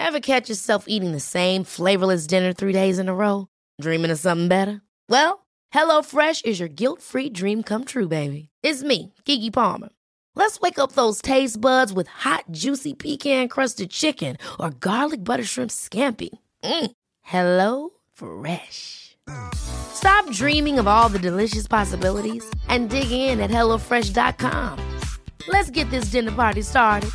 Ever catch yourself eating the same flavorless dinner 3 days in a row? Dreaming of something better? Well, HelloFresh is your guilt-free dream come true, baby. It's me, Keke Palmer. Let's wake up those taste buds with hot, juicy pecan-crusted chicken or garlic butter shrimp scampi. Hello Fresh. Stop dreaming of all the delicious possibilities and dig in at HelloFresh.com. Let's get this dinner party started.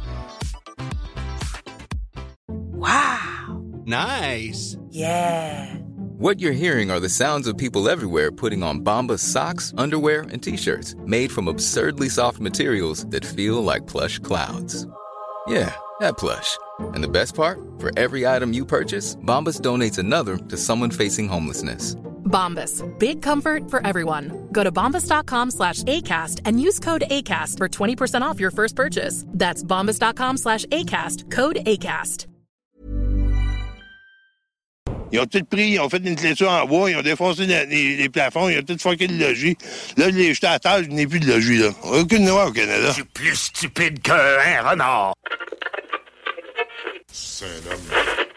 Wow. Nice. Yeah. What you're hearing are the sounds of people everywhere putting on Bombas socks, underwear, and T-shirts made from absurdly soft materials that feel like plush clouds. Yeah, that plush. And the best part? For every item you purchase, Bombas donates another to someone facing homelessness. Bombas. Big comfort for everyone. Go to bombas.com/ACAST and use code ACAST for 20% off your first purchase. That's bombas.com/ACAST. Code ACAST. Ils ont tout pris, ils ont fait une clôture en bois, ils ont défoncé les plafonds, ils ont tout fucké le logis. Là, je l'ai jeté à terre, je n'ai plus de logis, là. Aucune loi au Canada. Je suis plus stupide qu'un renard. C'est un homme.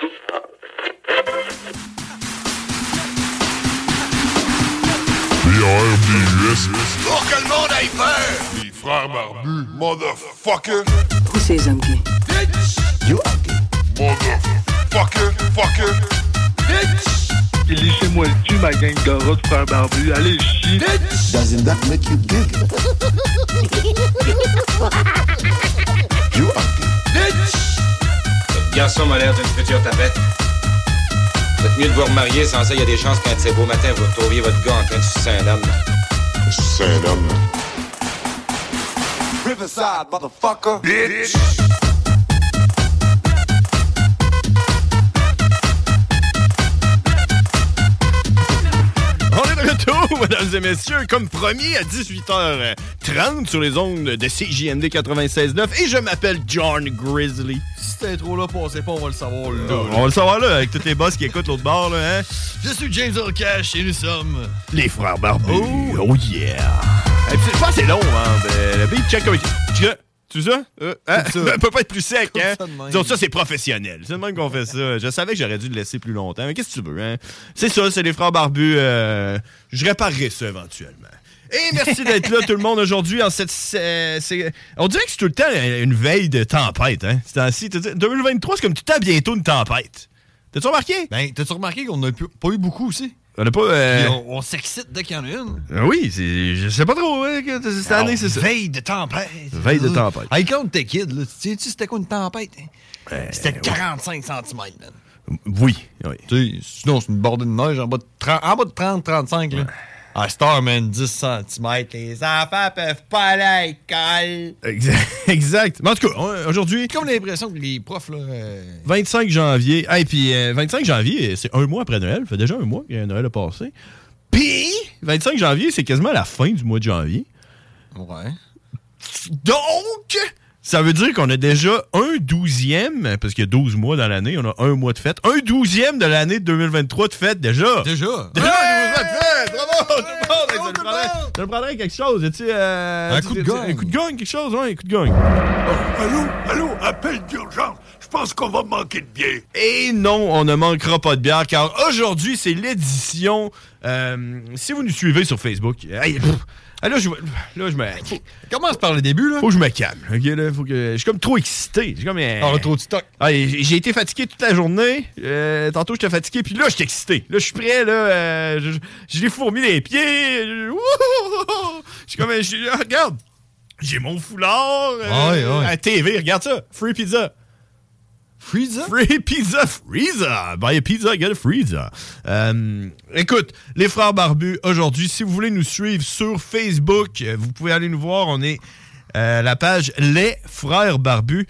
B-A-R-B-U-S. Pour que le monde aille peur! Les frères barbus, motherfucker. Who says I'm gay? Bitch! You are gay. Motherfucker, fucker. Bitch! Laissez-moi le cul, ma gang de rats de frères barbus. Allez, chier. Bitch! Doesn't that make you gay? You are gay. Bitch! Votre garçon m'a l'air d'une future tapette. Faites mieux de vous remarier, sans ça, il y a des chances qu'un de ces beaux matins, vous retrouviez votre gars en train de sucer un homme. C'est un homme. Riverside, motherfucker! Bitch! On est de retour, mesdames et messieurs, comme promis à 18h30 sur les ondes de CJMD 96.9 et je m'appelle John Grizzly. Si cette intro-là passait pas, on va le savoir là. On va le savoir là, avec tous les boss qui écoutent l'autre bord, là, hein? Je suis James Orcash et nous sommes... Les frères barbus. Oh yeah! Et puis, c'est pas assez long, hein? Le beat check avec... Tu sais ça? Ça peut pas être plus sec, hein? Disons, ça, c'est professionnel. C'est le même qu'on fait ça. Je savais que j'aurais dû le laisser plus longtemps. Mais qu'est-ce que tu veux, hein? C'est ça, c'est les frères barbus. Je réparerai ça éventuellement. Et merci d'être là, tout le monde, aujourd'hui. En cette, on dirait que c'est tout le temps une veille de tempête, hein? C'est ainsi. 2023, c'est comme tout le temps bientôt une tempête. T'as-tu remarqué? Ben, t'as-tu remarqué qu'on n'a pas eu beaucoup aussi? On n'a pas. On s'excite dès qu'il y en a une. Oui, je sais pas trop, hein, cette année, c'est ça. Veille de tempête. Veille de tempête. Hey, quand t'es kid, là, tu sais, c'était quoi une tempête? Hein? C'était 45 cm, man. Oui. Tu sais, sinon, c'est une bordée de neige en bas de 30-35, là. À Star, man, 10 cm. Les enfants peuvent pas aller à l'école. Exact. Mais en tout cas, aujourd'hui... J'ai comme l'impression que les profs, là... 25 janvier. Et puis, 25 janvier, c'est un mois après Noël. Ça fait déjà un mois que Noël a passé. Puis, 25 janvier, c'est quasiment la fin du mois de janvier. Ouais. Donc, ça veut dire qu'on a déjà un 12e, parce qu'il y a 12 mois dans l'année, on a un mois de fête. Un 12e de l'année de 2023 de fête, déjà. Déjà? Bravo, tout le monde! Ça le prendrait quelque chose, un coup de gang. Un coup de gang, quelque chose, ouais, un coup de gang. Allô, appel d'urgence. Je pense qu'on va manquer de bière. Et non, on ne manquera pas de bière, car aujourd'hui, c'est l'édition... si vous nous suivez sur Facebook... Là, je me... Commence par le début, là. Faut que je me calme. Okay, là, faut que... Je suis comme trop excité. J'ai comme... On a trop de stock. J'ai été fatigué toute la journée. Tantôt, j'étais fatigué. Puis là, j'étais excité. Là, je suis prêt. Là, j'ai fourmi les pieds. Je suis comme... regarde. J'ai mon foulard. À la TV. Regarde ça. Free pizza. Freezer? Free pizza, Freezer. Buy a pizza, get a freezer. Écoute, les frères barbus, aujourd'hui, si vous voulez nous suivre sur Facebook, vous pouvez aller nous voir. On est la page Les frères barbus.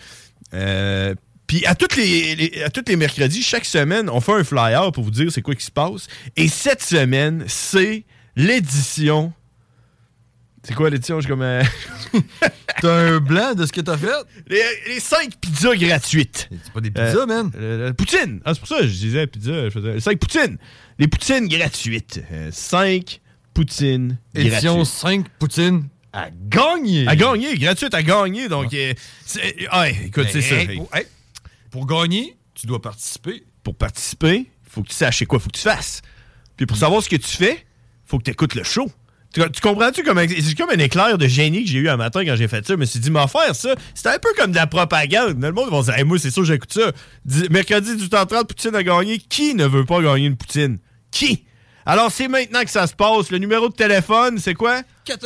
Puis à tous les mercredis, chaque semaine, on fait un flyer pour vous dire c'est quoi qui se passe. Et cette semaine, c'est l'édition... C'est quoi l'édition? Je suis comme... T'as un blanc de ce que t'as fait? Les 5 pizzas gratuites. C'est pas des pizzas, man. Poutine. C'est pour ça que je disais pizza. Je faisais 5 poutines. Les poutines gratuites. 5 poutines gratuites. Édition 5 poutines à gagner. À gagner. Gratuite à gagner. Donc, écoute, c'est ça. Pour gagner, Tu dois participer. Pour participer, il faut que tu saches c'est quoi, il faut que tu fasses. Puis pour savoir ce que tu fais, il faut que tu écoutes le show. Tu comprends-tu? C'est comme un éclair de génie que j'ai eu un matin quand j'ai fait ça. Je me suis dit, m'en faire ça, c'était un peu comme de la propagande. Le monde va dire, hey, moi, c'est sûr, j'écoute ça. Mercredi, 18h30, Poutine a gagné. Qui ne veut pas gagner une Poutine? Qui? Alors, c'est maintenant que ça se passe. Le numéro de téléphone, c'est quoi?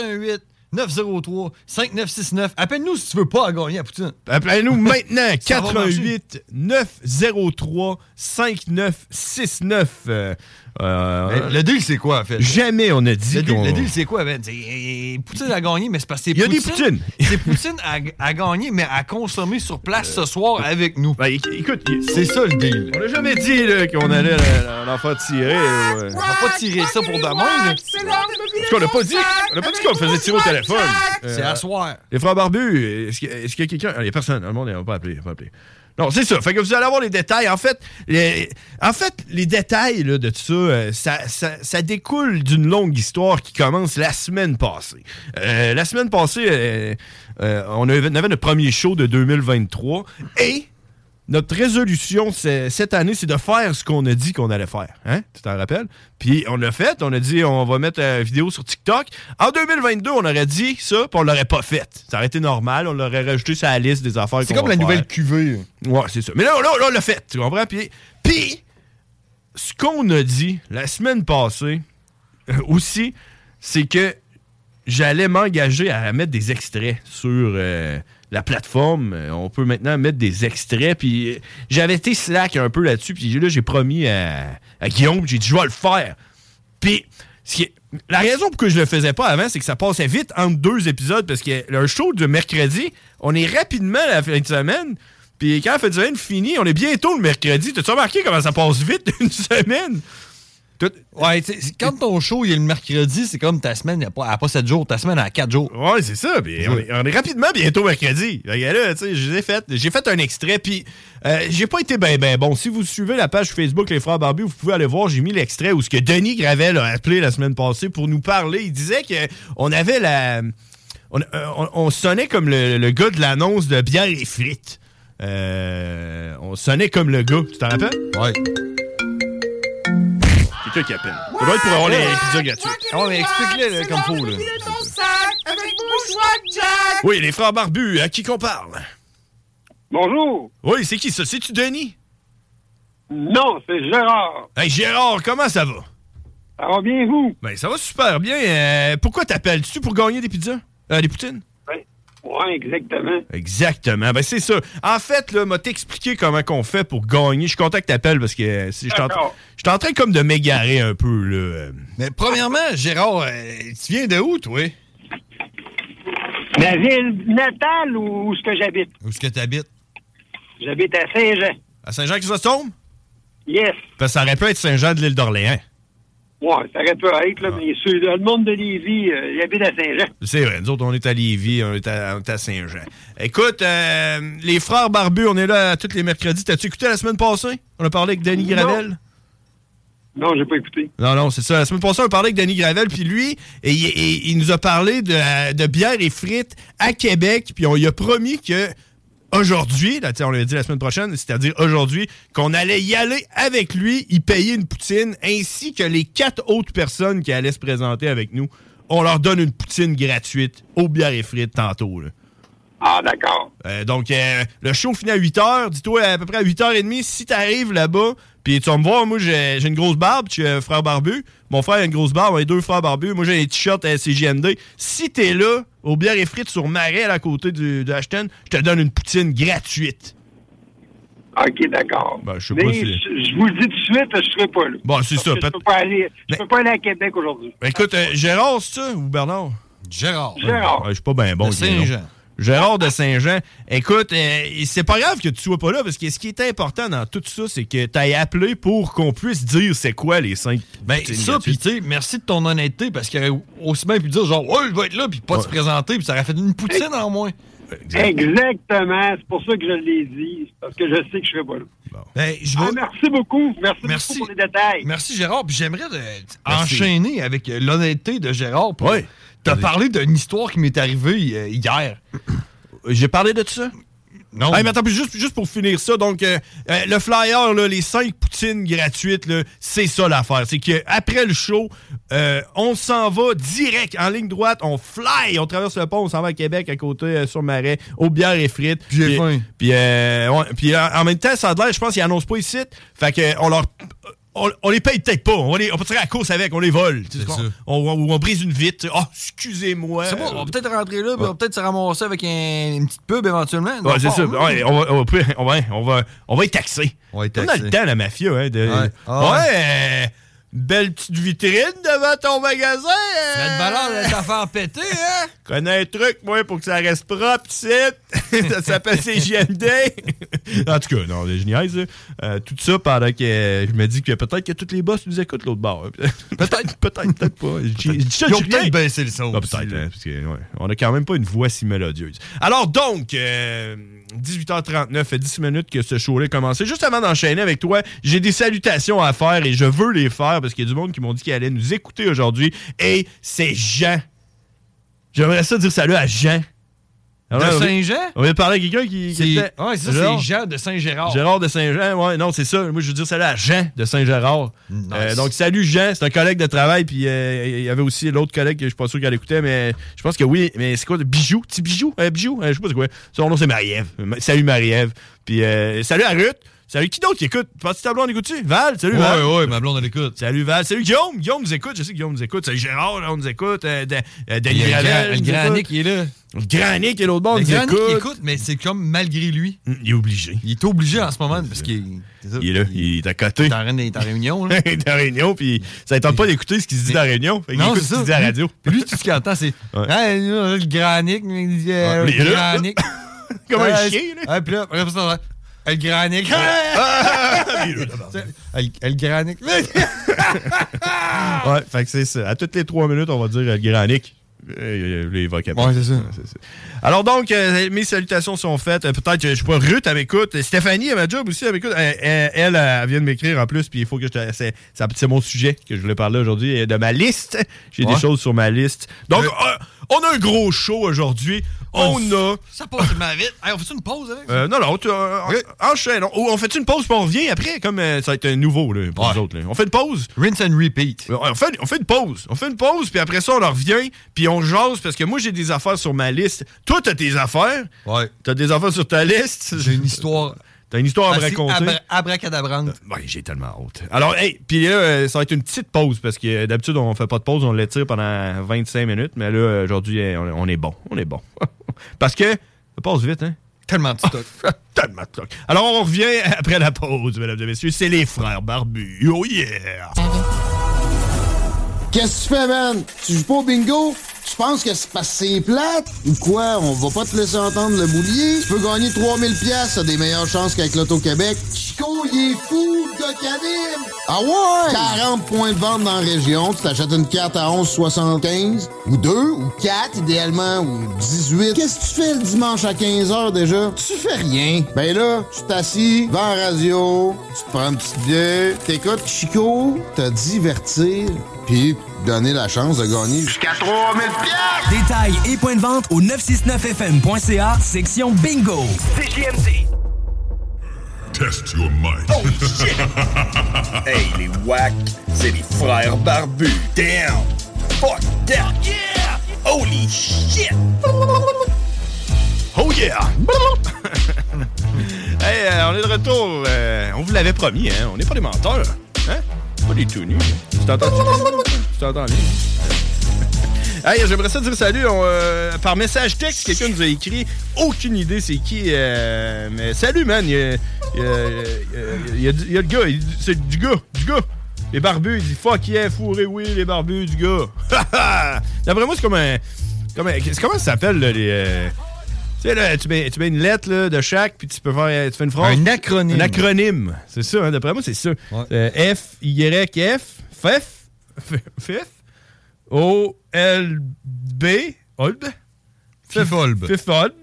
418-903-5969. Appelle-nous si tu veux pas gagner à Poutine. Appelez-nous maintenant. 418-903-5969. Le deal, c'est quoi, en fait? Jamais on a dit Le deal, c'est quoi, Ben? Poutine a gagné, mais c'est parce que c'est Poutine. Il y a des Poutines. C'est Poutine à gagner, mais à consommer sur place ce soir avec nous. Ben, écoute, c'est ça le deal. On n'a jamais dit là, qu'on allait l'en faire tirer. On va pas tirer ça pour demain. Parce qu'on n'a pas dit qu'on faisait tirer au téléphone. C'est à soir. Les frères barbus, est-ce qu'il y a quelqu'un? Il n'y a personne. Le monde, il va pas appeler. Non, c'est ça. Fait que vous allez avoir les détails. En fait, les détails là, de tout ça, ça découle d'une longue histoire qui commence la semaine passée. La semaine passée, on avait notre premier show de 2023 et notre résolution cette année, c'est de faire ce qu'on a dit qu'on allait faire. Hein? Tu t'en rappelles? Puis on l'a fait. On a dit on va mettre une vidéo sur TikTok. En 2022, on aurait dit ça, puis on l'aurait pas fait. Ça aurait été normal. On l'aurait rajouté sur la liste des affaires qu'on va faire. C'est comme la nouvelle cuvée. Ouais, c'est ça. Mais là, on l'a fait. Tu comprends? Puis ce qu'on a dit la semaine passée aussi, c'est que j'allais m'engager à mettre des extraits sur la plateforme. On peut maintenant mettre des extraits. Puis j'avais été slack un peu là-dessus. Puis là, j'ai promis à Guillaume, j'ai dit, je vais le faire. Puis la raison pour que je le faisais pas avant, c'est que ça passait vite entre deux épisodes. Parce que le show de mercredi, on est rapidement à la fin de semaine. Puis quand la fin de semaine finit, on est bientôt le mercredi. T'as-tu remarqué comment ça passe vite une semaine? Ouais, quand ton show il est le mercredi, c'est comme ta semaine, elle n'a pas 7 jours, ta semaine a 4 jours. Ouais, c'est ça. Puis on est rapidement bientôt mercredi. Là, j'ai fait un extrait, puis j'ai pas été ben bon. Si vous suivez la page Facebook Les Frères Barbus, vous pouvez aller voir, j'ai mis l'extrait où ce que Denis Gravel a appelé la semaine passée pour nous parler. Il disait qu'on avait on sonnait comme le gars de l'annonce de bière et frites. On sonnait comme le gars. Tu t'en rappelles? Ouais. Quelqu'un qui appelle. Ça doit être pour avoir les pizzas gratuites. Ah, mais explique-le comme faut, là. Oui, les frères barbus, à qui qu'on parle? Bonjour. Oui, c'est qui ça? C'est-tu Denis? Non, c'est Gérard. Hey, Gérard, comment ça va? Ça va bien, vous? Ben, ça va super bien. Pourquoi t'appelles? Tu pour gagner des pizzas? Des poutines? Oui, exactement. Exactement. Ben, c'est ça. En fait, là, m'a t'expliqué comment qu'on fait pour gagner. Je suis content que t'appelles parce que je suis en train comme de m'égarer un peu, là. Mais premièrement, Gérard, tu viens de où, toi? Ma ville natale ou où est-ce que j'habite? Où est-ce que t'habites? J'habite à Saint-Jean. À Saint-Jean-Chrysostome? Yes. Parce que ça aurait pu être Saint-Jean de l'île d'Orléans. Ouais, ça aurait pu être, là, mais le monde de Lévis, il habite à Saint-Jean. C'est vrai, nous autres, on est à Lévis, on est à Saint-Jean. Écoute, les frères barbus, on est là tous les mercredis. T'as-tu écouté la semaine passée? On a parlé avec Denis Gravel? Non, j'ai pas écouté. Non, c'est ça. La semaine passée, on a parlé avec Denis Gravel, puis lui, il nous a parlé de bière et frites à Québec, puis on lui a promis que aujourd'hui, là, on l'avait dit la semaine prochaine, c'est-à-dire aujourd'hui, qu'on allait y aller avec lui, y payer une poutine, ainsi que les 4 autres personnes qui allaient se présenter avec nous. On leur donne une poutine gratuite aux bières et frites tantôt. Là. Ah, d'accord. Donc, le show finit à 8h. Dis-toi, à peu près à 8h30, si t'arrives là-bas, puis tu vas me voir, moi, j'ai une grosse barbe, je suis frère barbu. Mon frère a une grosse barbe, on est 2 frères barbus. Moi, j'ai des t-shirts à CJMD. Si t'es là, aux bières et frites sur Marais, à côté de Ashton, je te donne une poutine gratuite. OK, d'accord. Ben, je sais pas si... Je vous le dis tout de suite, je serai pas là. Bon, c'est ça. Je peux pas aller à Québec aujourd'hui. Ben, écoute, Gérard, c'est ça, ou Bernard? Gérard. Ouais, je suis pas bien bon. De Saint-Jean. Gérard de Saint-Jean. Écoute, c'est pas grave que tu sois pas là, parce que ce qui est important dans tout ça, c'est que tu aies appelé pour qu'on puisse dire c'est quoi les 5. Ben, ça, puis tu sais, merci de ton honnêteté, parce qu'il aurait aussi bien pu dire genre, ouais, je vais être là, puis pas se présenter, puis ça aurait fait une poutine en moins. Exactement. C'est pour ça que je l'ai dit, parce que je sais que je serai pas là. Bon. Ben, merci beaucoup. Merci beaucoup pour les détails. Merci, Gérard. Puis j'aimerais enchaîner avec l'honnêteté de Gérard. Oui. T'as parlé d'une histoire qui m'est arrivée hier. J'ai parlé de ça? Non. Hey, mais attends, juste pour finir ça, donc, le flyer, là, les 5 poutines gratuites, là, c'est ça l'affaire. C'est qu'après le show, on s'en va direct, en ligne droite, on fly, on traverse le pont, on s'en va à Québec, à côté, sur Marais, aux bières et frites. Puis j'ai faim. Puis en même temps, ça a l'air, je pense qu'ils annoncent pas ici. Fait que on les paye peut-être pas. On peut tirer à la course avec, on les vole. On brise une vitre. Oh, excusez-moi. C'est bon, on va peut-être rentrer là, puis on va peut-être se ramasser avec une petite pub éventuellement. Ouais, c'est ça. Ouais, on va être taxé. On va être taxé. On a le temps, la mafia. Belle petite vitrine devant ton magasin. Ça a de valeur de t'en péter, hein? Connais un truc, moi, pour que ça reste propre, ici. Ça s'appelle CJMD. En tout cas, non, je niaise. Tout ça pendant que je me dis que peut-être que tous les boss nous écoutent l'autre bord. peut-être pas. Ils ont peut-être baissé le son. Peut-être, hein, parce que, on a quand même pas une voix si mélodieuse. Alors donc, 18h39, 10 minutes que ce show-là a commencé. Juste avant d'enchaîner avec toi, j'ai des salutations à faire et je veux les faire parce qu'il y a du monde qui m'ont dit qu'ils allaient nous écouter aujourd'hui. Et c'est Jean. J'aimerais ça dire salut à Jean. Alors, de Saint-Jean? On vient de parler à quelqu'un qui était... Ouais, c'est ça, c'est Jean de Saint-Gérard. Gérard de Saint-Jean, ouais, non, c'est ça. Moi, je veux dire salut à Jean de Saint-Gérard. Nice. Donc, salut Jean, c'est un collègue de travail, puis il y avait aussi l'autre collègue que je suis pas sûr qu'elle écoutait, mais je pense que oui. Mais c'est quoi, Bijou? Petit Bijou? Bijou? Je sais pas c'est quoi. Son nom, c'est Marie-Ève. Salut Marie-Ève. Puis salut à Ruth. Salut, qui d'autre qui écoute? Penses-tu ta blonde écoute-tu? Val, salut Val. Ouais, ma blonde, elle écoute. Salut Val. Salut Guillaume. Guillaume nous écoute. Je sais que Guillaume nous écoute. Salut Gérard, là, on nous écoute. Denis Gravel. Le grand Nick, il est là. Le grand Nick et l'autre bord nous écoute. Le grand Nick écoute, mais c'est comme malgré lui. Il est obligé. Il est obligé en ce moment parce qu'il est là. Il est à côté. Il est en réunion, là. Il est en réunion, puis ça ne tente pas d'écouter ce qu'il se dit dans la réunion. Fait non, écoute ce qu'il dit à la radio. Lui, tout ce qu'il entend, c'est le grand Nick. Le grand Nick. Comme un chien, là. Puis là, El Granic. El Granic. Ouais, fait que c'est ça. À toutes les 3 minutes, on va dire El Granic. Les vocables. Ouais, c'est ça. Alors donc, mes salutations sont faites. Peut-être, je sais pas, Ruth, elle m'écoute. Stéphanie, elle m'a job aussi, elle m'écoute. Elle vient de m'écrire en plus, puis il faut que c'est mon sujet que je voulais parler aujourd'hui, de ma liste. J'ai des choses sur ma liste. Donc, on a un gros show aujourd'hui. Ça passe tellement vite. Hey, on fait une pause avec? Non, enchaîne. On fait une pause, puis on revient après, comme ça va être nouveau là, pour nous autres. Là. On fait une pause. Rinse and repeat. On fait une pause. On fait une pause, puis après ça, on en revient, puis on jase, parce que moi, j'ai des affaires sur ma liste. Toi, t'as tes affaires. Ouais. T'as des affaires sur ta liste. J'ai une histoire. T'as une histoire à me raconter. Abracadabrante. Oui, j'ai tellement hâte. Alors, hey, puis là, ça va être une petite pause, parce que d'habitude, on fait pas de pause, on l'étire pendant 25 minutes, mais là, aujourd'hui, on est bon. On est bon. Parce que ça passe vite, hein? Tellement de stock. Tellement de stock. Alors, on revient après la pause, mesdames et messieurs. C'est les frères barbus. Oh yeah! Qu'est-ce que tu fais, man? Tu joues pas au bingo? Tu penses que c'est parce que c'est plate? Ou quoi? On va pas te laisser entendre le boulier? Tu peux gagner 3000$, t'as des meilleures chances qu'avec l'Auto-Québec. Chico, il est fou, le gars qui anime! Ah ouais? 40 points de vente dans la région. Tu t'achètes une carte à 11,75. Ou 2, ou 4, idéalement, ou 18. Qu'est-ce que tu fais le dimanche à 15h déjà? Tu fais rien. Ben là, tu t'assis devant la radio, tu te prends une petite bière, t'écoutes Chico, te divertir, puis donner la chance de gagner jusqu'à 3000$. Détails et points de vente au 969fm.ca, section bingo. CJMD. Test your mind. Oh shit! Hey, les wack, c'est les frères barbus. Damn! Fuck that! Yeah! Holy shit! Oh yeah! Hey, on est de retour. On vous l'avait promis, hein? On n'est pas des menteurs. Hein? Pas des tout nus. Tu t'entends bien? Hey, j'aimerais ça dire salut par message texte. Quelqu'un nous a écrit. Aucune idée c'est qui. Mais salut, man. Il y a le gars. C'est du gars. Les barbus. Il dit fuck yeah, fourré, oui, les barbus, du gars. D'après moi, c'est comme un. Comment ça s'appelle, là, les. Tu sais, là, tu mets une lettre là, de chaque, puis tu fais une phrase. Un acronyme. Un acronyme. C'est ça, hein, d'après moi, c'est ça. Ouais. F-Y-F. O-L-B. Olb. Fifolb.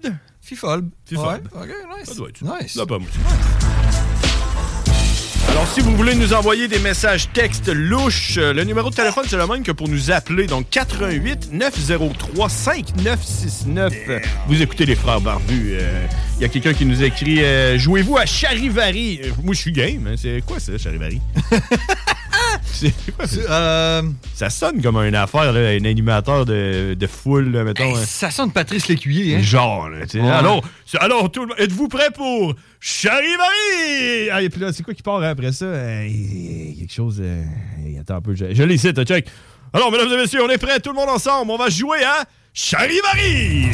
Fifolb. Ouais. OK, nice. Ça doit être nice. Là, pas moi. Alors, Si vous voulez nous envoyer des messages textes louches, le numéro de téléphone, c'est le même que pour nous appeler. Donc, 88 903 5969. Vous écoutez les Frères Barbus. Il y a quelqu'un qui nous écrit « Jouez-vous à Charivari? » Moi, je suis game. Hein. C'est quoi ça, Charivari? C'est quoi ça? Ça sonne comme une affaire, là, un animateur de foule, là, mettons. Hey, ça sonne Patrice Lécuyer, hein? Genre, là, tu sais. Ouais. Alors tout le monde, êtes-vous prêts pour Charivari? Ah, et puis là, c'est quoi qui part après ça? Quelque chose... attends un peu, je les cite, check. Alors, mesdames et messieurs, on est prêts, tout le monde ensemble. On va jouer à Charivari!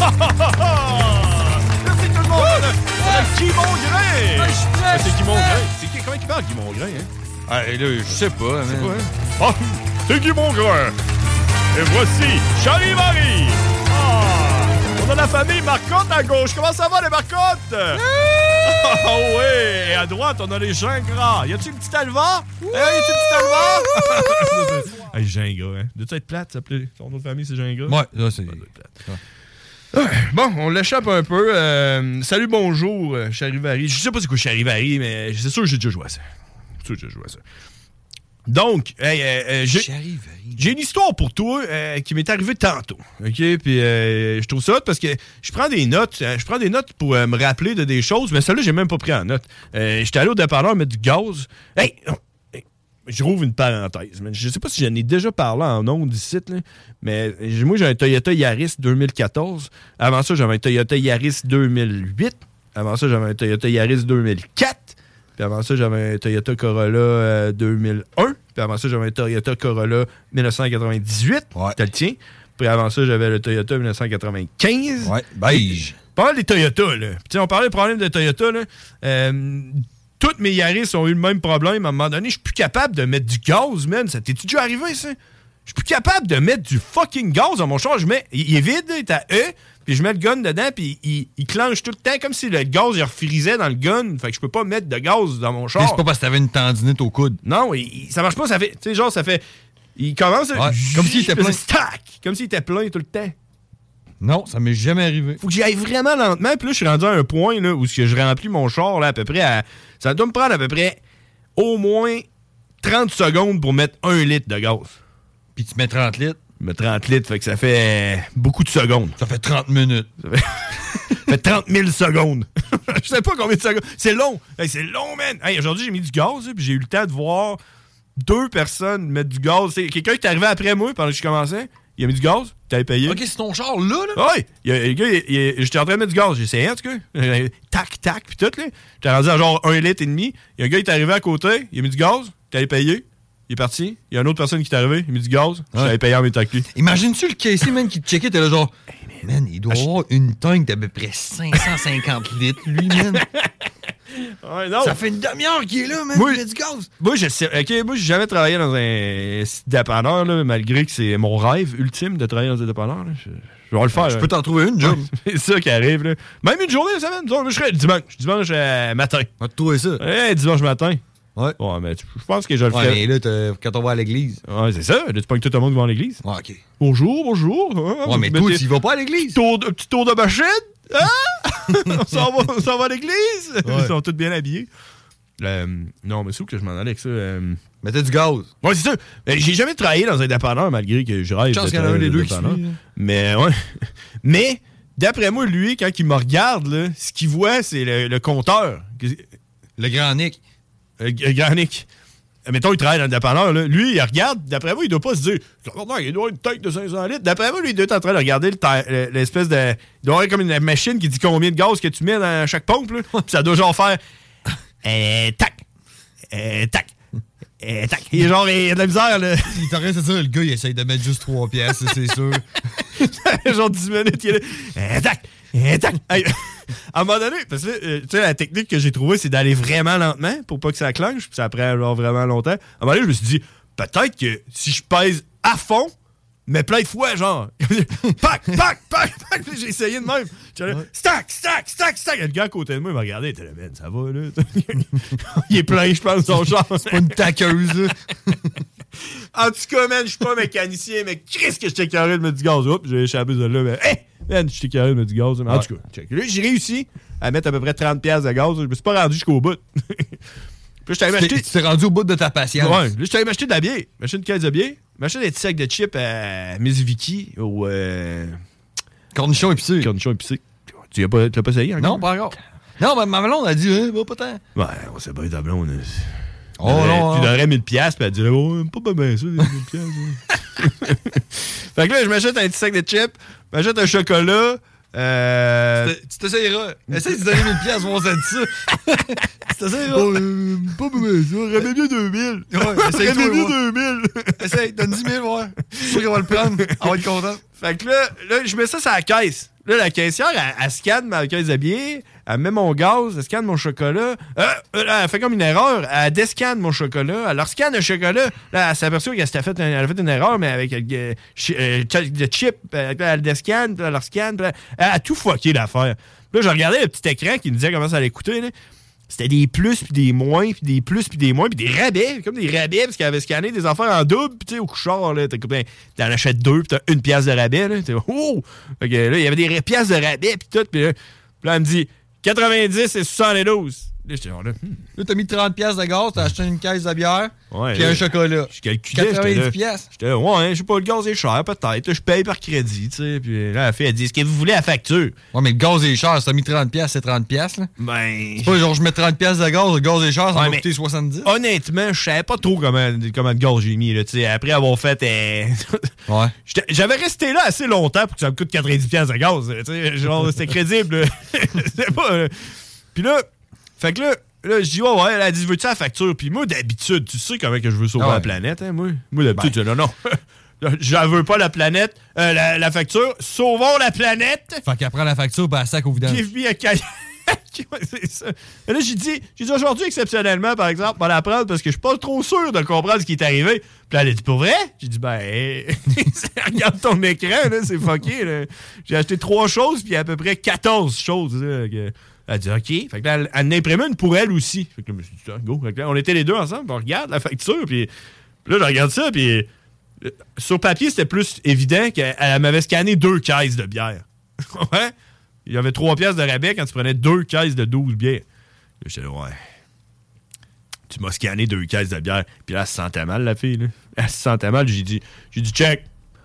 Merci tout le monde! On a Guy Mongrain! C'est Guy Mongrain. Comment il parle, Guy Mongrain, hein? Ah, là, je sais pas. C'est quoi, hein? Ah, c'est Guy Mongrain. Et voici Charivari. Ah, on a la famille Marcotte à gauche. Comment ça va, les Marcottes? Ah ouais. Et à droite, on a les Gingras. Y a-tu le petit Alva? Y a-tu le petit Alva? Hey, Gingras, hein? Doit-tu être plate, s'appeler? Son autre famille, c'est Gingras? Ouais, là, c'est plate. Bon, on l'échappe un peu. Salut, bonjour, Charivari. Je sais pas c'est quoi Charivari, mais c'est sûr que j'ai déjà joué à ça. Donc, j'ai une histoire pour toi qui m'est arrivée tantôt. OK? Puis je trouve ça hot parce que je prends des notes. Je prends des notes pour me rappeler de des choses, mais celle-là, j'ai même pas pris en note. J'étais allé au dépanneur mettre du gaz. Hey! Je rouvre une parenthèse. Je sais pas si j'en ai déjà parlé en ondes ici, là, mais moi, j'ai un Toyota Yaris 2014. Avant ça, j'avais un Toyota Yaris 2008. Avant ça, j'avais un Toyota Yaris 2004. Puis avant ça, j'avais un Toyota Corolla 2001. Puis avant ça, j'avais un Toyota Corolla 1998. Ouais. T'as le tien. Puis avant ça, j'avais le Toyota 1995. Ouais, beige. Pas mal des Toyota, là. Puis on parlait des problèmes de Toyota, là. Toutes mes Yaris ont eu le même problème. À un moment donné, je suis plus capable de mettre du gaz, man. Ça t'es-tu déjà arrivé, ça? Je suis plus capable de mettre du fucking gaz dans mon char. Il est vide, il est à E. Puis je mets le gun dedans, puis il clenche tout le temps comme si le gaz, il refrisait dans le gun. Fait que je peux pas mettre de gaz dans mon char. C'est pas parce que t'avais une tendinite au coude. Non, ça marche pas. Ça fait, tu sais, genre, ça fait... Il commence... Ouais, comme s'il était plein. Stack! Comme s'il était plein tout le temps. Non, ça m'est jamais arrivé. Faut que j'y aille vraiment lentement. Puis là, je suis rendu à un point là, où je remplis mon char là, à peu près à... Ça doit me prendre à peu près au moins 30 secondes pour mettre 1 litre de gaz. Puis tu mets 30 litres? Je mets 30 litres, fait que ça fait beaucoup de secondes. Ça fait 30 minutes. Ça fait 30 000 secondes. Je sais pas combien de secondes. C'est long. Hey, c'est long, man. Hey, aujourd'hui, j'ai mis du gaz, puis j'ai eu le temps de voir 2 personnes mettre du gaz. C'est quelqu'un qui est arrivé après moi pendant que je commençais. Il a mis du gaz, t'avais payé. OK, c'est ton char là? Oui. Le gars, j'étais en train de mettre du gaz. J'ai essayé, en tout cas. Tac, tac, puis tout, là. J'étais rendu à genre 1,5 litre. Il y a un gars qui est arrivé à côté, il a mis du gaz, t'avais payé. Il est parti. Il y a une autre personne qui est arrivée. Il a mis du gaz. Je l'avais payé en même temps que lui. Imagine-tu le caissier, man, qui te checkait. T'es là genre... Hey, man, il doit avoir une tank d'à peu près 550 litres, lui, man. Ouais, non. Ça fait une demi-heure qu'il est là, man. Il met du gaz. Moi, je sais. OK, moi, j'ai jamais travaillé dans un site dépanneur, là, malgré que c'est mon rêve ultime de travailler dans un dépanneur. Là. Je vais le faire. Je peux t'en trouver une, job. C'est ça qui arrive, là. Même une journée, la semaine. Moi, je serais dimanche matin. On va te trouver ça. Dimanche matin. Ouais. Ouais, mais je pense que je le ferai. Ouais, mais là, quand on va à l'église. Ouais, c'est ça. Là, tu pognes tout le monde qui va à l'église. Ouais, OK. Bonjour. Ouais, mais toi, tu y vas pas à l'église. Petit tour de machine. Hein? on s'en va à l'église. Ouais. Ils sont tous bien habillés. Non, mais c'est où que je m'en allais avec ça? Mettez du gaz. Ouais, c'est ça. J'ai jamais travaillé dans un dépanneur, malgré que je rêve. Je pense qu'il y en a un des deux qui suit. Mais, ouais. Mais, d'après moi, lui, quand il me regarde, là, ce qu'il voit, c'est le compteur. Le grand Nick. Le grand Nick. Mettons, il travaille dans le dépanneur, là. Lui, il regarde. D'après moi, il doit pas se dire, il doit avoir une tank de 500 litres. D'après moi, lui, il doit être en train de regarder l'espèce de... Il doit avoir comme une machine qui dit combien de gaz que tu mets dans chaque pompe, là. Puis ça doit genre faire... tac. Tac. Tac. Il est genre, il a de la misère, là. Il est en train de se dire, le gars, il essaye de mettre juste 3 pièces, c'est sûr. Genre 10 minutes, il est là. Tac. Tac. À un moment donné, parce que tu sais, la technique que j'ai trouvée, c'est d'aller vraiment lentement pour pas que ça clenche, puis ça prend genre vraiment longtemps. À un moment donné, je me suis dit, peut-être que si je pèse à fond, mais plein de fois, genre, pac, pac, pac, pac, puis j'ai essayé de même. Ouais. Stack. Le gars à côté de moi, il m'a regardé, il était là, man, ça va, là. Il est plein, je pense, son genre. C'est pas une taqueuse, là. En tout cas, man, je suis pas mécanicien, mais qu'est-ce que j'étais carré de mettre du gaz? Oups, j'ai échappé de là, mais hey! Man, j'étais carré de mettre du gaz. Mais en tout cas, check. Là, j'ai réussi à mettre à peu près 30$ de gaz. Je me suis pas rendu jusqu'au bout. Puis Puis là, je t'avais acheté... Tu t'es rendu au bout de ta patience. Ouais. Là, je t'avais acheté de la bière. M'acheté une caisse de bière. M'acheté des petits sacs de chips à Miss Vicky au... Cornichon épicé. Cornichon épicé. Tu l'as pas essayé encore? Non, pas encore. Non, mais ma blonde a dit, pas tant. Ouais, on sait pas ta blonde. Oh non, tu donnerais 1000$, puis elle dirait, oh, pas bien ça, 1000$. Fait que là, je m'achète un petit sac de chips, m'achète un chocolat. Tu t'essayeras. Essaye de donner 1000$, on va dire ça. Tu t'essayeras. Pas bien ça, ramène bien 2000. Ouais, essaye ramène bien 2000. Essaye, donne 10 000, ouais. Je suis sûr qu'elle va le prendre. Elle va être contente. Fait que là, je mets ça sur la caisse. Là, la caissière, elle scanne ma caisse de billets, elle met mon gaz, elle scanne mon chocolat. Elle fait comme une erreur, elle descanne mon chocolat, elle leur scanne le chocolat. Là, elle s'aperçoit qu'elle a fait une erreur, mais avec le chip, elle descanne, puis elle leur scanne, puis elle a tout fucké l'affaire. Là, je regardais le petit écran qui me disait comment ça allait coûter, là. C'était des plus, puis des moins, puis des plus, puis des moins, puis des rabais, comme des rabais, parce qu'elle avait scanné des affaires en double, puis tu sais, au couchard, là, t'en achètes 2, puis t'as 1 pièce de rabais, là, t'es oh! Fait que là, il y avait des pièces de rabais, puis tout, puis là, elle me dit 90 et 72. Là, j'étais genre là. Là, t'as mis 30$ de gaz, t'as acheté une caisse de bière, puis un chocolat. Je calculais. 90$. J'étais là, ouais, je sais pas, le gaz est cher, peut-être. Là, je paye par crédit, tu sais. Puis là, la fille, elle dit, est-ce que vous voulez la facture? Ouais, mais le gaz est cher. Si t'as mis 30$, c'est 30$, là. Ben. C'est pas genre, je mets 30$ de gaz, le gaz est cher, ça va coûter 70$. Honnêtement, je savais pas trop comment de gaz j'ai mis, là, tu sais. Après avoir fait. Ouais. J'avais resté là assez longtemps pour que ça me coûte 90$ de gaz, tu sais. Genre, c'était crédible, c'était pas. Puis là, fait que là, je dis, ouais, elle a dit, veux-tu la facture? Puis moi, d'habitude, tu sais comment que je veux sauver la planète, hein, moi? Moi, d'habitude, je dis, non. Je veux pas la planète, la facture. Sauvons la planète! Fait qu'elle prend la facture, ben, elle sac au vidange. Give me a cahier. C'est ça. Et là, j'ai dit aujourd'hui, exceptionnellement, par exemple, on va la prendre parce que je suis pas trop sûr de comprendre ce qui est arrivé. Puis là, elle a dit, pour vrai? J'ai dit, ben, regarde ton écran, là, c'est fucké, là. J'ai acheté 3 choses, puis à peu près 14 choses, là. Elle a dit, OK. Fait que là, elle en a imprimé une pour elle aussi. Fait que là, je me suis dit, go. Fait que là, on était les deux ensemble, puis on regarde la facture, puis là, je regarde ça, puis sur papier, c'était plus évident qu'elle m'avait scanné 2 caisses de bière. Ouais? Il y avait 3 pièces de rabais quand tu prenais 2 caisses de 12 bières. Là, j'étais là, ouais. Tu m'as scanné 2 caisses de bière. Puis là, elle se sentait mal, la fille. Là. Elle se sentait mal. J'ai dit, check.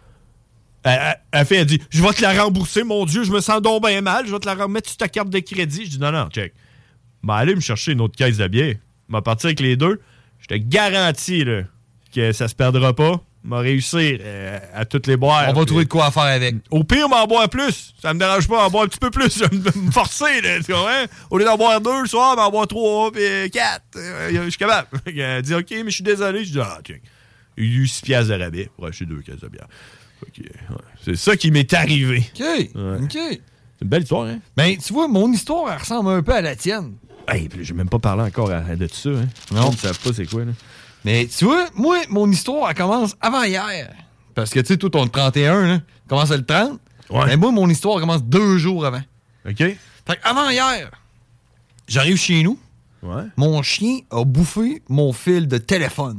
La fille, elle dit, je vais te la rembourser, mon Dieu, je me sens donc bien mal. Je vais te la remettre sur ta carte de crédit. Je dis, non, check. Ben, allez me chercher une autre caisse de bière. Je vais partir avec les 2. Je te garantis là, que ça se perdra pas. M'a réussi à toutes les boire. On va trouver de quoi faire avec. Au pire, m'en boire plus. Ça me dérange pas d'en boire un petit peu plus. Je vais me forcer, là. Tu vois, hein? Au lieu d'en boire 2 le soir, m'en boire 3 puis 4. Je suis capable. Elle dit, OK, mais je suis désolé. Je dis, tiens. Il y a eu 6 piastres de rabais pour acheter 2 caisses de bière. Okay, ouais. C'est ça qui m'est arrivé. OK. Ouais. OK. C'est une belle histoire, hein? Ben, tu vois, mon histoire, elle ressemble un peu à la tienne. Hey, j'ai même pas parlé encore de ça, hein? Non. Ils ne savent pas c'est quoi, là. Mais tu vois, moi, mon histoire, elle commence avant hier. Parce que, tu sais, toi, ton 31, là, commence le 30. Ouais. Mais moi, mon histoire commence 2 jours avant. OK. Fait qu'avant hier, j'arrive chez nous. Ouais. Mon chien a bouffé mon fil de téléphone.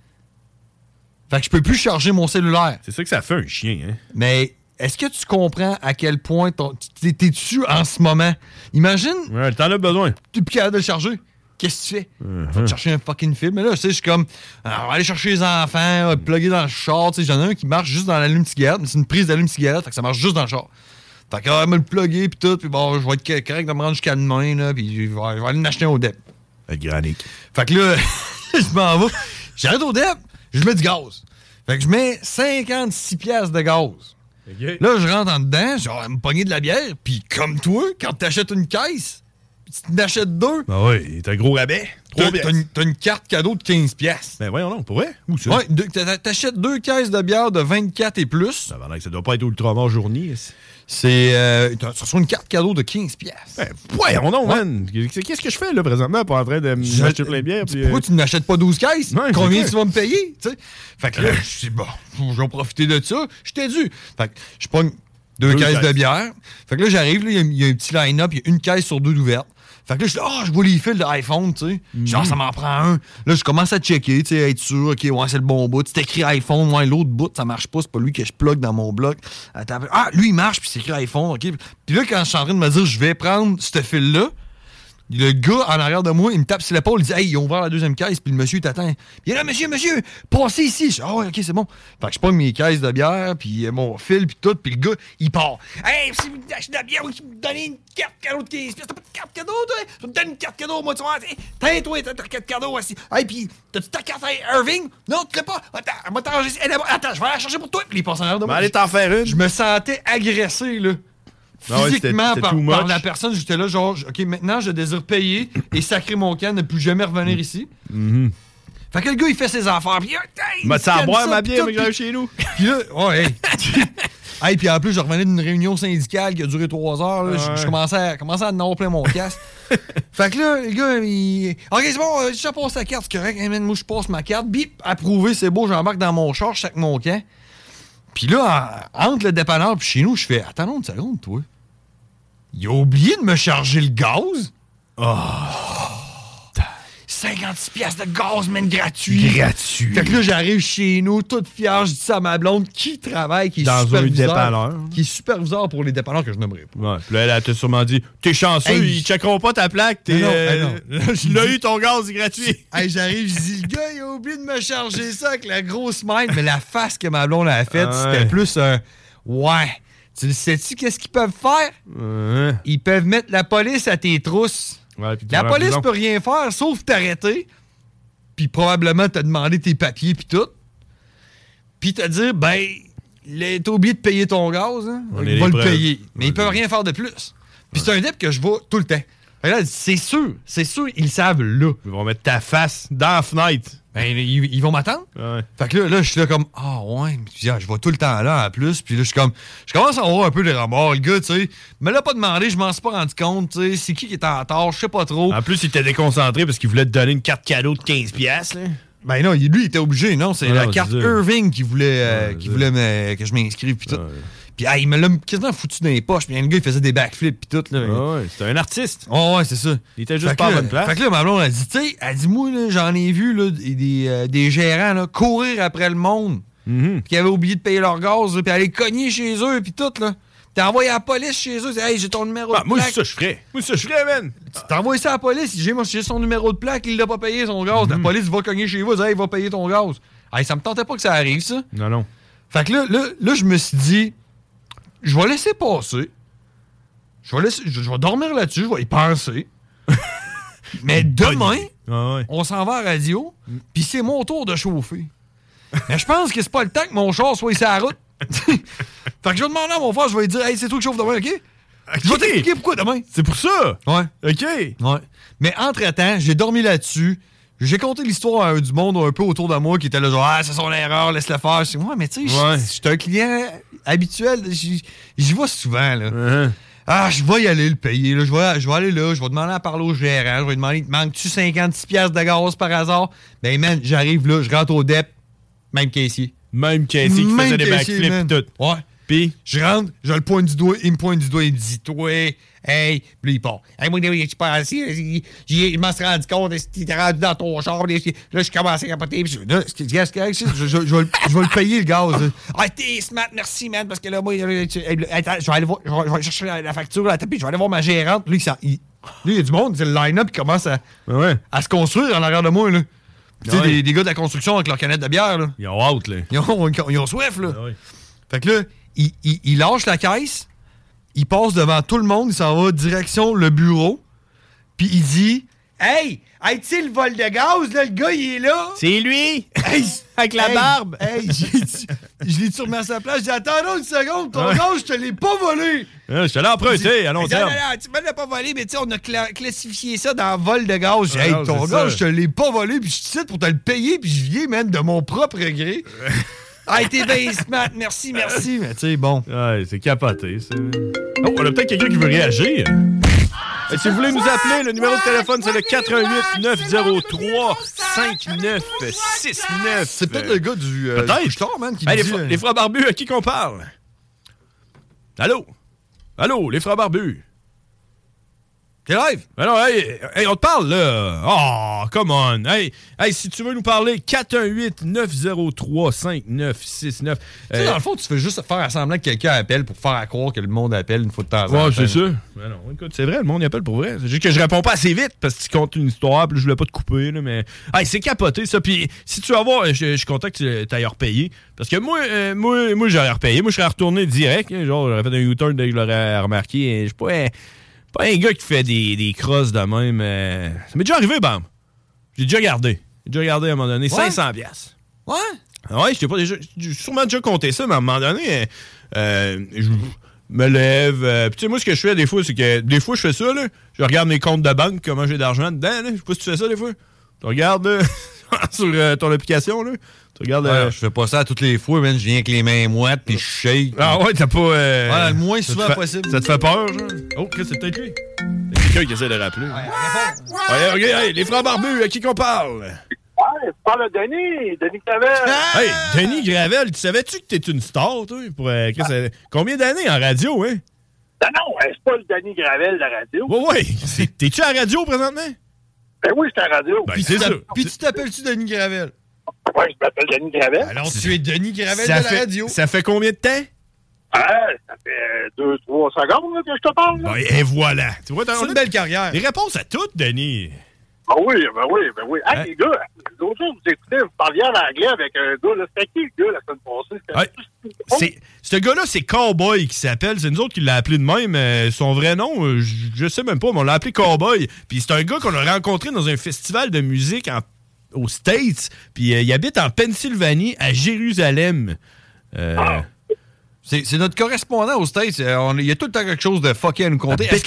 Fait que je peux plus charger mon cellulaire. C'est ça que ça fait, un chien, hein? Mais est-ce que tu comprends à quel point t'es dessus en ce moment? Imagine. Ouais, t'en as besoin. Tu es plus capable de le charger. Qu'est-ce que tu fais? Va te chercher un fucking fil. Mais là, tu sais, je suis comme, on va aller chercher les enfants, plugger dans le char. Tu sais, j'en ai un qui marche juste dans l'allume-cigarette. C'est une prise d'allume-cigarette, fait que ça marche juste dans le char. Fait que, me le plugger, puis tout, puis bon, je vais être correct de me rendre jusqu'à demain, là, puis je vais aller en acheter un au DEP. Granique. Fait que là, je m'en vais. J'arrête au DEP, je mets du gaz. Fait que je mets 56 piastres de gaz. Okay. Là, je rentre en dedans, genre, à me pogner de la bière, puis comme toi, quand t'achètes une caisse, tu t'achètes 2. Ben oui, t'as un gros rabais. T'as une carte cadeau de 15 piastres. Ben voyons donc, pour vrai? Où ça? Ouais, t'achètes 2 caisses de bière de 24 et plus. Ça doit pas être Ultramar journée. C'est... ça reçoit une carte cadeau de 15 piastres. Ben voyons donc, man. Qu'est-ce que je fais, là, présentement, pour en train de m'acheter plein de bière? Pourquoi tu n'achètes pas 12 caisses? Ouais, combien tu vas me payer? T'sais? Fait que là, je dis, bon, je vais profiter de ça. Je t'ai dû. Fait que je pogne 2 caisses de bière. Fait que là, j'arrive, il y a un petit line-up, il y a une caisse sur 2 d'ouverte. Fait que là, je dis, je vois les fils de iPhone, tu sais. Genre, ça m'en prend un. Là, je commence à checker, tu sais, être sûr, OK, ouais, c'est le bon bout. C'est écrit iPhone, ouais, l'autre bout, ça marche pas, c'est pas lui que je plug dans mon bloc. Lui, il marche, puis c'est écrit iPhone, OK. Puis là, quand je suis en train de me dire, je vais prendre ce fil-là, Le gars en arrière de moi, il me tape sur l'épaule, il dit « Hey, ils ont ouvert la deuxième caisse, puis le monsieur t'attend. » Il est là, monsieur, passez ici. Je dis « Ah ouais, ok, c'est bon. » Fait que je pogne mes caisses de bière, puis mon fil, puis tout, puis le gars, il part. « Hey, si vous achetez de la bière, vous me donnez une carte cadeau de 15$. T'as pas de carte cadeau, toi? Je me donne une carte cadeau, moi, tu vois. Tiens, toi, t'as ta carte cadeau aussi. Hey, puis t'as-tu ta carte à Irving? Non, tu l'as pas. Attends, moi, attends, je vais la chercher pour toi. » Puis il passe en arrière de moi. Allez t'en faire une. Je me sentais agressé, là. Physiquement, par la personne, j'étais là, genre, OK, maintenant, je désire payer et sacrer mon camp, ne plus jamais revenir ici. Fait que le gars, il fait ses affaires, puis il m'a dit à boire ma bière, mais que j'arrive chez nous. Puis là, ouais, hey, puis en plus, je revenais d'une réunion syndicale qui a duré 3 heures, là, je commençais à en avoir plein mon casque. Fait que là, le gars, il... OK, c'est bon, je passe ta carte, c'est correct. Hey, man, moi, je passe ma carte, bip, approuvé, c'est beau, j'embarque dans mon char, je sac mon camp. Puis là, entre le dépanneur puis chez nous, je fais, attends une seconde, toi. Il a oublié de me charger le gaz. Oh! 56$ de gaz, man, gratuit. Gratuit. Fait que là, j'arrive chez nous, toute fière, je dis ça à ma blonde qui travaille, qui est dans superviseur. Un dépanneur. Qui est superviseur pour les dépanneurs que je n'aimerais pas. Ouais. Puis là, elle t'a sûrement dit, t'es chanceux, ils checkeront pas ta plaque. T'es, non. Il a eu ton gaz gratuit. Hey, j'arrive, je dis, le gars, il a oublié de me charger ça avec la grosse main. Mais la face que ma blonde a faite, c'était plus un ouais. Tu le sais-tu qu'est-ce qu'ils peuvent faire? Ils peuvent mettre la police à tes trousses. Ouais, la police peut rien faire, sauf t'arrêter, puis probablement te demander tes papiers puis tout. Puis te dire, ben, t'as oublié de payer ton gaz, hein? Il va le payer. Mais ils peuvent rien faire de plus. Puis c'est un dip que je vois tout le temps. Là, c'est sûr, ils le savent là. Ils vont mettre ta face dans la fenêtre. Ben, ils vont m'attendre. Ouais. Fait que là, je suis là comme, ouais, je vais tout le temps là en plus. Puis là, je suis comme, je commence à avoir un peu de remords. Le gars, tu sais, me l'a pas demandé, je m'en suis pas rendu compte, tu sais, c'est qui était en tort, je sais pas trop. En plus, il était déconcentré parce qu'il voulait te donner une carte cadeau de 15$. Là. Ben non, lui, il était obligé, non, c'est la carte Irving qui voulait, que je m'inscrive puis tout. Puis il me l'a quasiment foutu dans les poches. Puis le gars, il faisait des backflips puis tout. Là. Ouais, c'était un artiste. Oh, ouais, c'est ça. Il était juste pas à bonne place. Fait que là, ma blonde a dit, tu sais, moi, là, j'en ai vu là, des gérants là, courir après le monde qui avaient oublié de payer leur gaz, puis aller cogner chez eux, puis tout, là. T'as envoyé à la police chez eux, hey, j'ai ton numéro de plaque. Moi, c'est ça que je ferais. Man. T'as envoyé ça à la police, j'ai son numéro de plaque, il l'a pas payé son gaz. La police va cogner chez vous, il va payer ton gaz. Hey, ça me tentait pas que ça arrive, ça. Non. Fait que là, je me suis dit, je vais laisser passer. Je vais dormir là-dessus, je vais y penser. Mais demain, on s'en va à la radio, puis c'est mon tour de chauffer. Mais je pense que c'est pas le temps que mon char soit sur la route. Fait que je vais demander à mon frère, je vais lui dire, hey, c'est toi qui chauffe demain, OK? Je vais t'expliquer pourquoi demain. C'est pour ça? Ouais. OK. Ouais. Mais entre-temps, j'ai dormi là-dessus. J'ai conté l'histoire à du monde un peu autour de moi qui était là, genre, c'est son erreur, laisse-le faire. Je dis, ouais, mais tu sais, je suis un client habituel. J'y vais souvent, là. Je vais y aller le payer, là. Je vais aller là, je vais demander à parler au gérant. Je vais lui demander, te manques-tu 56$ de gaz par hasard? Ben, man, j'arrive là, je rentre au DEP, même caissier. Même caissier qui faisait des backflips et tout. Ouais. Puis, je rentre, je le pointe du doigt, il me pointe du doigt, il me dit, toi, hey, puis là, il part. Hey, moi, je suis pas assis, je m'en suis rendu compte, tu t'es rendu dans ton char, là, je commençais à capoter, puis là, je vais le payer, le gaz. Ah, t'es smart, merci, man, parce que là, moi, attends, je vais aller voir, je vais chercher la facture, là, puis je vais aller voir ma gérante, puis là, il y a du monde, c'est le line-up, qui commence à se construire en arrière de moi, là. Tu sais, des gars de la construction avec leur canette de bière, là. Ils ont hâte, là. Ils ont soif, là. Fait que là, il lâche la caisse, il passe devant tout le monde, il s'en va direction le bureau, puis il dit « Hey, tu sais, le vol de gaz, là, le gars, il est là! » C'est lui! Hey, avec la barbe! Hey, je l'ai remis à sa place, je dis « Attends une seconde, ton gaz, je te l'ai pas volé! » Je te l'ai emprunté à long terme. Non, tu me l'as pas volé, mais tu sais, on a classifié ça dans vol de gaz. J'ai dit « Hey, ton gaz, je te l'ai pas volé, puis je te cite pour te le payer, puis je viens, man, de mon propre gré. » Ah, t'es bien smart, merci. Mais tu sais, bon. Ouais, c'est capoté, ça. Oh, on a peut-être quelqu'un qui veut réagir. Si vous voulez nous appeler, le numéro de téléphone, c'est le 418-903-5969. C'est peut-être le gars du couche-tard, man, qui dit... Les frères barbus, à qui qu'on parle? Allô, les frères barbus? T'es live? Ben non, hey, on te parle, là. Oh, come on. Hey, si tu veux nous parler, 418-903-5969. Tu sais, dans le fond, tu fais juste faire semblant que quelqu'un appelle pour faire croire que le monde appelle une fois de temps en temps. Ouais, c'est ça. Ben non, écoute, c'est vrai, le monde y appelle pour vrai. C'est juste que je réponds pas assez vite parce que tu comptes une histoire, puis je voulais pas te couper, là, mais... Hey, c'est capoté, ça. Puis si tu vas voir, je suis content que tu ailles repayer. Parce que moi, j'aurais repayé. Moi, je serais retourné direct. Hein, genre, j'aurais fait un U-turn dès que je l'aurais remarqué. Je suis pas un gars qui fait des crosses de même. Ça m'est déjà arrivé, bam. J'ai déjà gardé. à un moment donné. Ouais? 500$. Ouais? Ouais, j'ai sûrement déjà compté ça, mais à un moment donné, je me lève. Puis tu sais, moi, ce que je fais des fois, c'est que des fois, je fais ça, là. Je regarde mes comptes de banque, comment j'ai d'argent dedans, là. Je sais pas si tu fais ça, des fois. Tu regardes, sur ton application, là. Tu regardes. Je fais pas ça toutes les fois, man. Je viens avec les mains moites, puis je shake. Ah ouais, t'as pas. Voilà, le moins souvent possible. Ça te fait peur, genre? Oh, qu'est-ce que c'est peut-être lui? Il y a quelqu'un qui essaie de rappeler. Ouais, regarde, les frères barbus, à qui qu'on parle? Ouais, tu parles de Denis Gravel. Hey, Denis Gravel, tu savais-tu que t'es une star, toi? Combien d'années en radio, hein? Non, c'est pas le Denis Gravel de la radio. Ouais. T'es-tu à la radio présentement? Ben oui, c'est à la radio. Ben, c'est ça. Puis tu t'appelles-tu Denis Gravel? Ouais, je m'appelle Denis Gravel. Alors, tu es Denis Gravel de la radio. Ça fait combien de temps? Ça fait 2-3 secondes là, que je te parle. Là. Ben, et voilà. Tu vois, c'est une belle carrière. Les réponses à toutes, Denis. Ben oui. Hey, les gars, l'autre jour, vous écoutez, vous parliez en anglais avec un gars, là. C'était qui le gars la semaine passée? Ce gars-là, c'est Cowboy qui s'appelle. C'est nous autres qui l'a appelé de même. Son vrai nom, je sais même pas, mais on l'a appelé Cowboy. Puis c'est un gars qu'on a rencontré dans un festival de musique aux States. Puis il habite en Pennsylvanie, à Jérusalem. C'est notre correspondant aux States. Il y a tout le temps quelque chose de fucké à nous compter. Est-ce que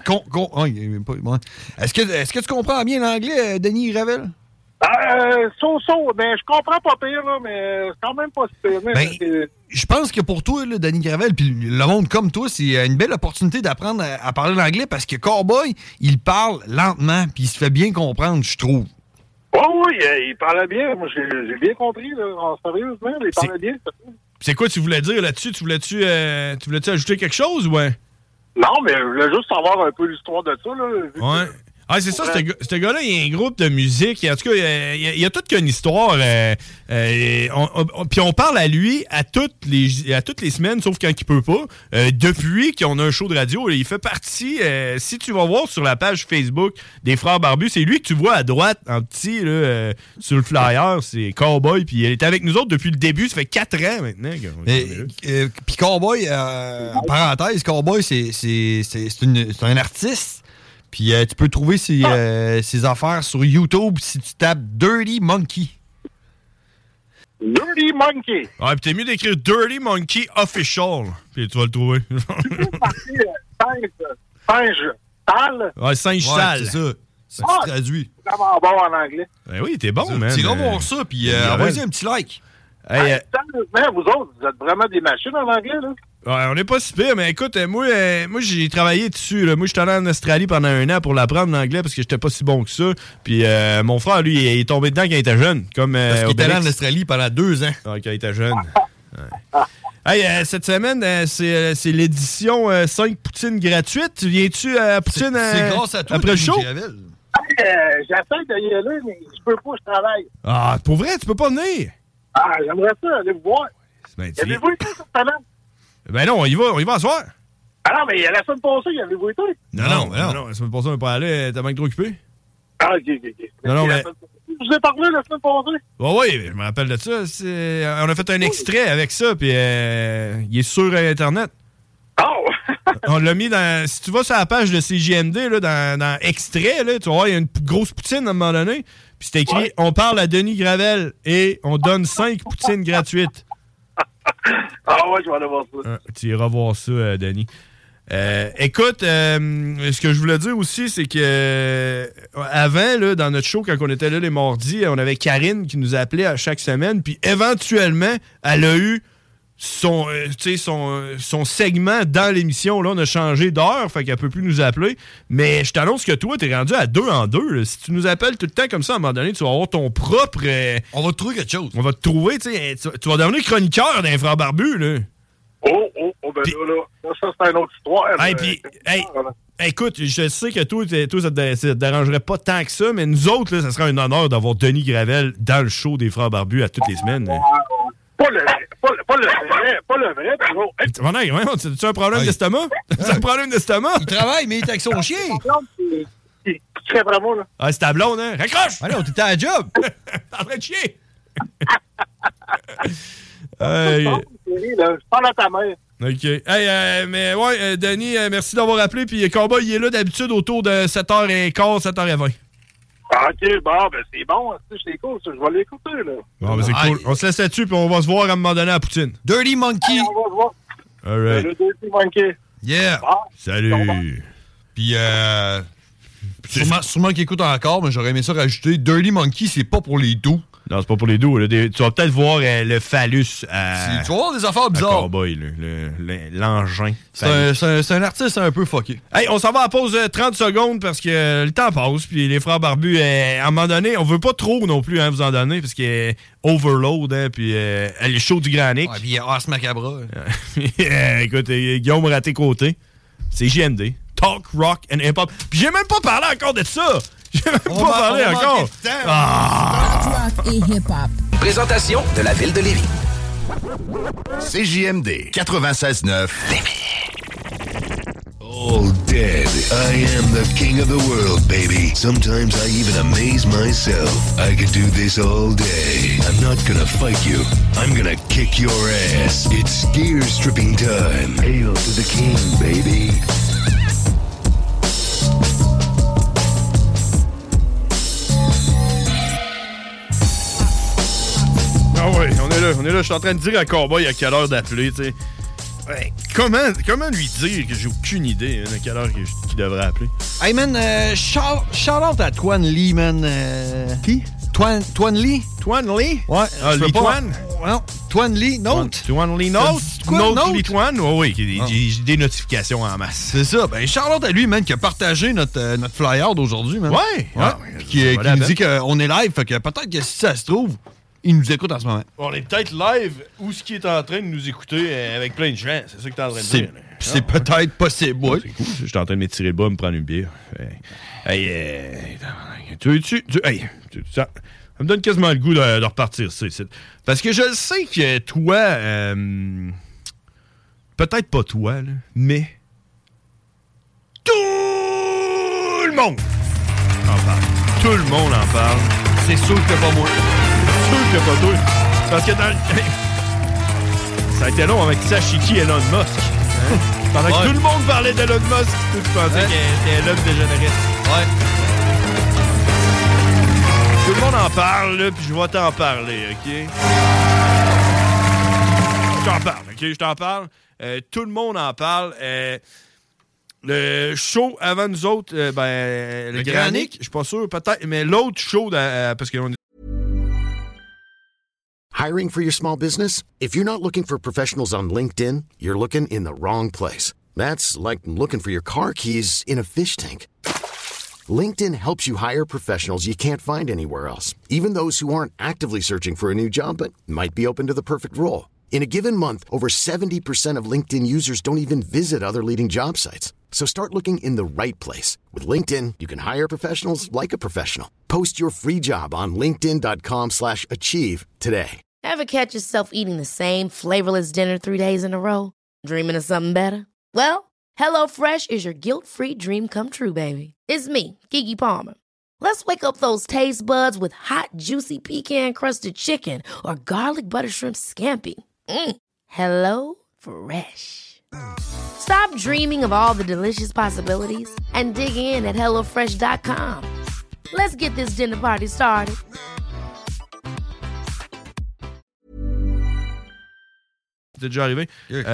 tu comprends bien l'anglais, Denis Gravel? Mais je comprends pas pire, là, mais c'est quand même pas si pire. Je pense que pour toi, là, Denis Gravel, puis le monde comme toi, c'est une belle opportunité d'apprendre à parler l'anglais parce que Cowboy, il parle lentement, puis il se fait bien comprendre, je trouve. Oui, il parlait bien. Moi, j'ai bien compris, là, sérieusement, il parlait bien. C'est quoi tu voulais dire là-dessus? Tu voulais-tu ajouter quelque chose, ouais? Non, mais je voulais juste savoir un peu l'histoire de ça, là. Ouais. Ah, c'est ça, ce gars-là, il y a un groupe de musique. En tout cas, il y a toute qu'une histoire. Puis on parle à lui à toutes les semaines, sauf quand il peut pas. Depuis qu'on a un show de radio, il fait partie. Si tu vas voir sur la page Facebook des Frères Barbus, c'est lui que tu vois à droite, en petit, là, sur le flyer. C'est Cowboy. Puis il est avec nous autres depuis le début. Ça fait 4 ans maintenant. Puis Cowboy, en parenthèse, Cowboy, c'est un artiste. Puis tu peux trouver ses affaires sur YouTube si tu tapes Dirty Monkey. Dirty Monkey. Ouais, puis t'es mieux d'écrire Dirty Monkey Official. Puis tu vas le trouver. Tu peux partir singe sale. Ouais, singe sale. C'est ça. C'est traduit. C'est vraiment bon en anglais. Ben oui, t'es bon, man. Tu vas voir ça, puis envoyez un petit like. Sérieusement, vous autres, vous êtes vraiment des machines en anglais, là? Ouais, on n'est pas si pire, mais écoute, moi j'ai travaillé dessus. Là. Moi, j'étais allé en Australie pendant 1 an pour l'apprendre l'anglais parce que j'étais pas si bon que ça. Puis mon frère, lui, il est tombé dedans quand il était jeune. Parce qu'il était allé en Australie pendant 2 ans. Ouais, quand il était jeune. Ouais. Hey, cette semaine, c'est l'édition 5 poutines gratuites. Viens-tu à Poutine c'est grâce à toi, après le show? J'essaie d'y aller, mais je peux pas, je travaille. Ah, pour vrai, tu peux pas venir? Ah, j'aimerais ça, aller vous voir. Avez-vous été cette semaine? Ben non, on y va à soir. Ah non, mais la semaine passée, y avez-vous été? Non, la semaine passée, on n'est pas allé, t'as manqué trop occupé. Ah, ok. Non, mais... Je vous ai parlé la semaine passée? Oui, je me rappelle de ça. On a fait un extrait avec ça, puis il est sur Internet. Oh! On l'a mis dans... Si tu vas sur la page de CJMD, là, dans extrait, là, tu vas voir, il y a une grosse poutine à un moment donné. Puis c'est écrit, on parle à Denis Gravel et on donne 5 poutines gratuites. Ah ouais, je vais aller voir ça. Tu iras voir ça, Denis. Écoute, ce que je voulais dire aussi, c'est que avant, là, dans notre show, quand on était là les mardis, on avait Karine qui nous appelait à chaque semaine, puis éventuellement, elle a eu son segment dans l'émission. Là, on a changé d'heure, fait qu'elle peut plus nous appeler. Mais je t'annonce que toi, t'es rendu à 2 en 2. Là. Si tu nous appelles tout le temps comme ça, à un moment donné, tu vas avoir ton propre... On va te trouver quelque chose. On va te trouver, tu vas devenir chroniqueur d'un Frère Barbu, là. Ben Ça, c'est une autre histoire. Hey, puis, écoute, je sais que toi, ça te dérangerait pas tant que ça, mais nous autres, là, ça serait un honneur d'avoir Denis Gravel dans le show des Frères Barbus à toutes les semaines. Pas le vrai, toujours. Tu as un problème d'estomac? Tu as un problème d'estomac? Il travaille, mais il est avec son chien. Qui serait vraiment, là? Ah, c'est ta blonde, hein? Raccroche! Ah non, t'étais à la job! T'es en train de chier! Je parle à ta mère. OK. Hey, mais ouais, Denis, merci d'avoir appelé. Puis Cowboy, il est là d'habitude autour de 7h15, 7h20. OK, bon, ben c'est bon. C'est cool, ça. Je vais l'écouter, là. Bon, ben c'est cool. On se laisse là-dessus, puis on va se voir à un moment donné à Poutine. Dirty Monkey. On va se voir. All right. Le Dirty Monkey. Yeah. Salut. Puis, sûrement qu'il écoute encore, mais j'aurais aimé ça rajouter. Dirty Monkey, c'est pas pour les doux. Non, c'est pas pour les doux. Là. Tu vas peut-être voir le phallus à... Tu vas voir des affaires bizarres. Cowboy, l'engin. C'est un artiste un peu fucké. Hey, on s'en va à pause 30 secondes parce que le temps passe. Puis les Frères Barbus, à un moment donné, on veut pas trop non plus vous en donner parce qu'il est overload. Hein, puis le show du Granic. Ouais, puis il y a Ars Macabra. Écoute, Guillaume Raté-Côté, c'est JMD. Talk, rock and hip-hop. Puis j'ai même pas parlé encore de ça. J'ai même pas parlé encore. Rock et hip-hop. Présentation de la ville de Lévis. CJMD 96.9 Lévis. All dead. I am the king of the world, baby. Sometimes I even amaze myself. I could do this all day. I'm not gonna fight you. I'm gonna kick your ass. It's gear stripping time. Hail to the king, baby. Ah oui, on est là. Je suis en train de dire à Cowboy à quelle heure d'appeler, tu sais. Ouais, comment lui dire que j'ai aucune idée à quelle heure qu'il devrait appeler? Hey man, shout-out à Twan Lee, man. Qui? Twan Lee? Twan Lee? Ouais. Lee Twan? Non, Twan Lee Note. Twan Lee Note? Note Lee Twan? Oui, j'ai des notifications en masse. C'est ça. Ben, shout-out à lui, man, qui a partagé notre flyer d'aujourd'hui, man. Ouais. Qui nous dit qu'on est live, fait que peut-être que si ça se trouve, il nous écoute en ce moment. On est peut-être live ou ce qui est en train de nous écouter avec plein de gens. C'est ça que t'es en train de dire. C'est peut-être possible, oui. C'est cool. Je suis en train de m'étirer le bas, me prendre une bière. Hey, ça me donne quasiment le goût de repartir, ça. Parce que je sais que toi, peut-être pas toi, là, mais tout le monde en parle. Tout le monde en parle. C'est sûr que pas moi. Que pas toi. Parce que dans ça a été long avec Sashiki Elon Musk. Hein? Pendant que tout le monde parlait d'Elon Musk, tu pensais qu'il était l'homme dégénéré. Ouais. Tout le monde en parle, là, puis je vais t'en parler, OK? Je t'en parle. Tout le monde en parle. Le show avant nous autres, le Granic, je suis pas sûr, peut-être, mais l'autre show, parce qu'on est Hiring for your small business? If you're not looking for professionals on LinkedIn, you're looking in the wrong place. That's like looking for your car keys in a fish tank. LinkedIn helps you hire professionals you can't find anywhere else, even those who aren't actively searching for a new job but might be open to the perfect role. In a given month, over 70% of LinkedIn users don't even visit other leading job sites. So start looking in the right place. With LinkedIn, you can hire professionals like a professional. Post your free job on linkedin.com/achieve today. Ever catch yourself eating the same flavorless dinner 3 days in a row? Dreaming of something better? Well, HelloFresh is your guilt-free dream come true, baby. It's me, Keke Palmer. Let's wake up those taste buds with hot, juicy pecan-crusted chicken or garlic butter shrimp scampi. Hello Fresh. Stop dreaming of all the delicious possibilities and dig in at HelloFresh.com. Let's get this dinner party started. C'est déjà arrivé.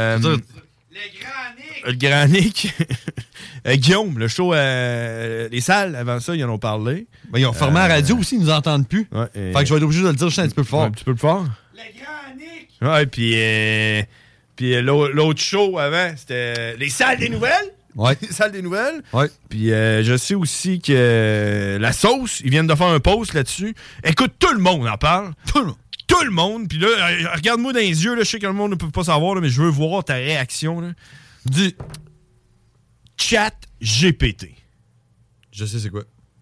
Le Granic. Guillaume, le show, les salles, avant ça, ils en ont parlé. Ben, ils ont formé la radio aussi, ils nous entendent plus. Ouais, fait que je vais être obligé de le dire juste un petit peu plus fort. Un petit peu plus fort? Le Granic! Ouais, puis l'autre show avant, c'était les salles des nouvelles. Ouais. Les salles des nouvelles. Ouais. Puis je sais aussi que la sauce, ils viennent de faire un post là-dessus. Écoute, tout le monde en parle. Tout le monde. Puis là, regarde-moi dans les yeux. Là, je sais que le monde ne peut pas savoir, là, mais je veux voir ta réaction. Là. Dis. Chat GPT. Je sais c'est quoi.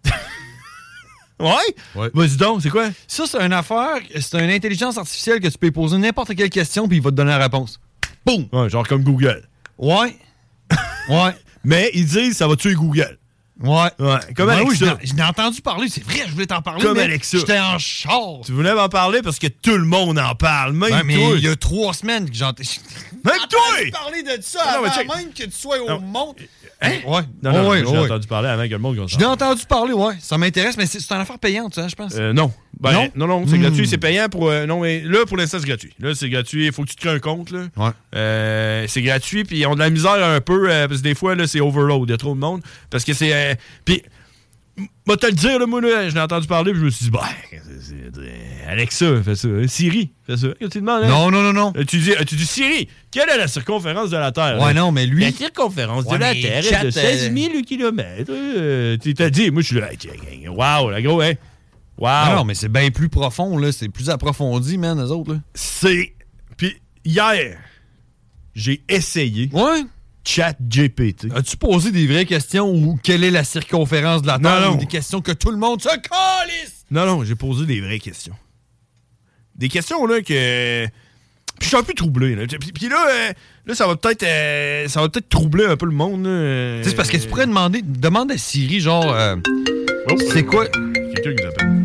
Ouais? Vas-y donc, c'est quoi? Ça, c'est une affaire, c'est une intelligence artificielle que tu peux poser n'importe quelle question puis il va te donner la réponse. Boum! Ouais, genre comme Google. Ouais. Ouais. Mais ils disent ça va tuer Google. Ouais. Comme Alexa. Oui, je n'ai entendu parler, c'est vrai, je voulais t'en parler. Comme mais Alexa. J'étais en char. Tu voulais m'en parler parce que tout le monde en parle. Même toi. Mais il y a 3 semaines que j'entends. Même toi! J'ai parlé de ça Non, mais avant même que tu sois au monde. Hein? Ouais. Non, j'ai entendu parler avant que le monde... Je l'ai entendu parler, ouais. Ça m'intéresse, mais c'est une affaire payante, hein, je pense. Non. Non, c'est gratuit, c'est payant pour... non, mais là, pour l'instant, c'est gratuit. Là, c'est gratuit, il faut que tu te crées un compte, là. Ouais. C'est gratuit, puis ils ont de la misère un peu, parce que des fois, là, c'est overload, il y a trop de monde. Parce que c'est... puis... Moi, te le dire, là, moi, là, je l'ai entendu parler, puis je me suis dit, Alexa, fais ça. Siri, fais ça. Tu demandes, hein? Non. Tu dis, Siri, quelle est la circonférence de la Terre? Ouais, non, mais lui... La circonférence de la Terre est de 16 000 km. Tu t'as dit, moi, je suis là, wow, la gros, hein? Wow. Non, mais c'est bien plus profond, là. C'est plus approfondi, man, eux autres, là. Puis, hier, j'ai essayé... Ouais? Chat GPT. As-tu posé des vraies questions ou quelle est la circonférence de la Terre? Non. Ou des questions que tout le monde se calisse? Non, j'ai posé des vraies questions. Des questions, là, que... Puis je suis un peu troublé, là. Puis là, ça va peut-être troubler un peu le monde, là. C'est parce que tu pourrais demande à Siri, genre... c'est quoi? Quelqu'un qui nous appelle.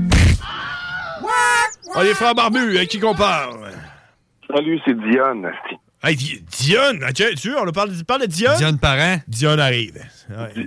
Oh, les frères barbus, à qui qu'on parle? Salut, c'est Dionne. Hey, Dionne! Tu vois, on parle de Dionne? Dionne Parent? Dionne arrive. Ouais.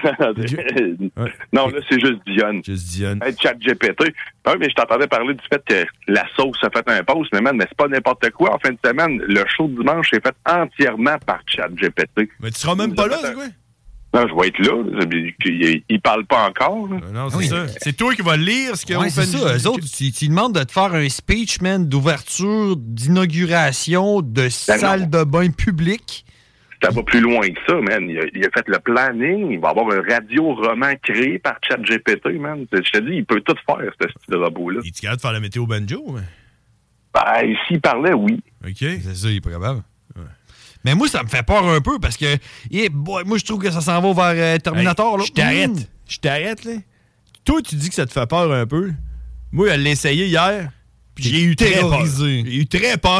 Non, là, c'est juste Dionne. Juste Dionne. Hey, Chat GPT. Oui, mais je t'entendais parler du fait que la sauce a fait un post, mais c'est pas n'importe quoi. En fin de semaine, le show de dimanche est fait entièrement par Chat GPT. Mais tu seras même pas là, c'est quoi? Non, je vais être là. Il parle pas encore. Non, c'est ça. C'est toi qui vas lire ce qu'ils ont fait. C'est ça. Eux autres, tu demandent de te faire un speech, man, d'ouverture, d'inauguration, de salle de bain publique. Ça va plus loin que ça, man. Il a fait le planning. Il va avoir un radio-roman créé par ChatGPT, man. Je te dis, il peut tout faire, ce style de robot-là. Il est capable de faire la météo banjo, mais... Ben, s'il parlait, oui. OK. C'est ça, il est pas capable. Ouais. Mais moi, ça me fait peur un peu parce que moi, je trouve que ça s'en va vers Terminator. Hey, je t'arrête, là. Toi, tu dis que ça te fait peur un peu. Moi, elle l'a essayé hier. Puis j'ai eu très peur. J'ai eu très peur.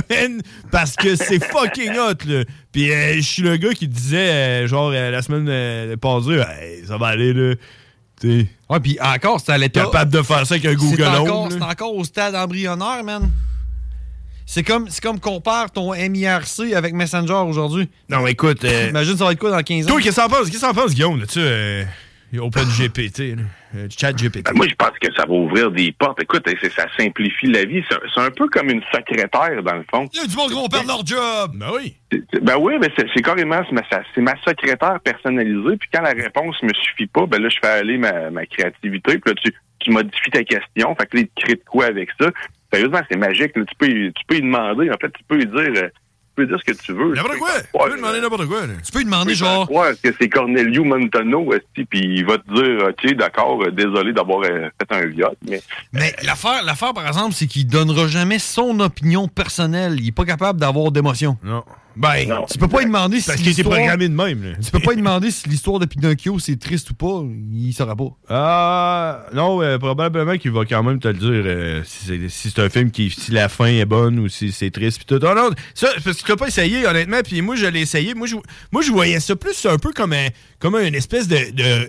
Parce que c'est fucking hot, là. Puis je suis le gars qui disait, la semaine passée, hey, ça va aller, là. T'sais. Ouais, puis encore, c'est à l'état. Capable de faire ça avec un Google Home. C'est encore au stade embryonnaire, man. C'est comme compare ton MIRC avec Messenger aujourd'hui. Non, mais écoute... Imagine ça va être quoi dans 15 ans? Toi, qu'est-ce que t'en penses, Guillaume, là-dessus? OpenGPT, ChatGPT. Ben, moi, je pense que ça va ouvrir des portes. Écoute, ça simplifie la vie. C'est un peu comme une secrétaire, dans le fond. Il y a du monde qui vont perdre leur job! Ben oui. Ben oui, mais c'est carrément... C'est ma secrétaire personnalisée. Puis quand la réponse me suffit pas, ben là, je fais aller ma créativité. Puis là, tu modifies ta question. Fait que là, il te crée de quoi avec ça. Sérieusement, c'est magique. Là. Tu peux lui demander. En fait, tu peux lui dire... ce que tu veux. N'importe quoi. Tu peux lui demander n'importe quoi. Là. Tu peux lui demander genre... Ouais, est-ce que c'est Cornelio Montano, puis il va te dire, OK, d'accord, désolé d'avoir fait un viol. Mais l'affaire, par exemple, c'est qu'il donnera jamais son opinion personnelle. Il est pas capable d'avoir d'émotion. Non. Ben, non. Tu peux pas lui demander si parce qu'il était programmé de même. Là. Tu peux pas lui demander si l'histoire de Pinocchio, c'est triste ou pas. Il saura pas. Non, probablement qu'il va quand même te le dire si c'est un film si la fin est bonne ou si c'est triste. Pis tout. Non, ça, parce que tu l'as pas essayé, honnêtement. Puis moi, je l'ai essayé. Moi, je voyais ça plus un peu comme une espèce de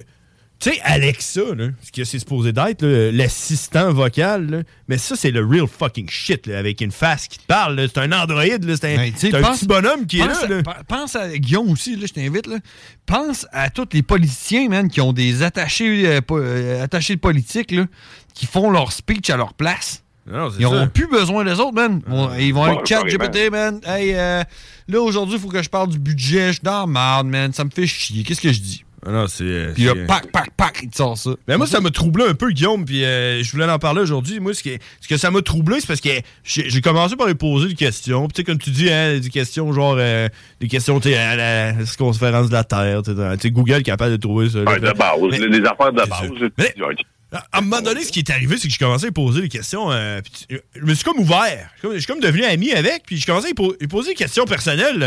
tu sais, Alexa, là, ce que c'est supposé d'être, là, l'assistant vocal, là, mais ça, c'est le real fucking shit, là, avec une face qui te parle. Là, c'est un androïde, là, c'est un petit bonhomme qui est là. Pense à Guillaume aussi, là, je t'invite. Là. Pense à tous les politiciens, man, qui ont des attachés politiques là, qui font leur speech à leur place. Non, ils n'auront plus besoin des autres, man. Ils vont aller chat GPT, man. Hey, là, aujourd'hui, il faut que je parle du budget. Je suis dans la merde, man. Ça me fait chier. Qu'est-ce que je dis? Ah non, c'est... Puis là, pac, il te sort ça. Mais moi, ça m'a troublé un peu, Guillaume, puis je voulais en parler aujourd'hui. Moi, ce que ça m'a troublé, c'est parce que j'ai commencé par lui poser des questions. Puis tu sais, comme tu dis, hein, des questions genre... des questions, tu sais, à la circonférence de la Terre. Tu sais, Google est capable de trouver ça. De base, les affaires de base. À un moment donné, ce qui est arrivé, c'est que je commençais à poser des questions. Je me suis comme ouvert. Je suis comme devenu ami avec, puis je commençais à lui poser des questions personnelles.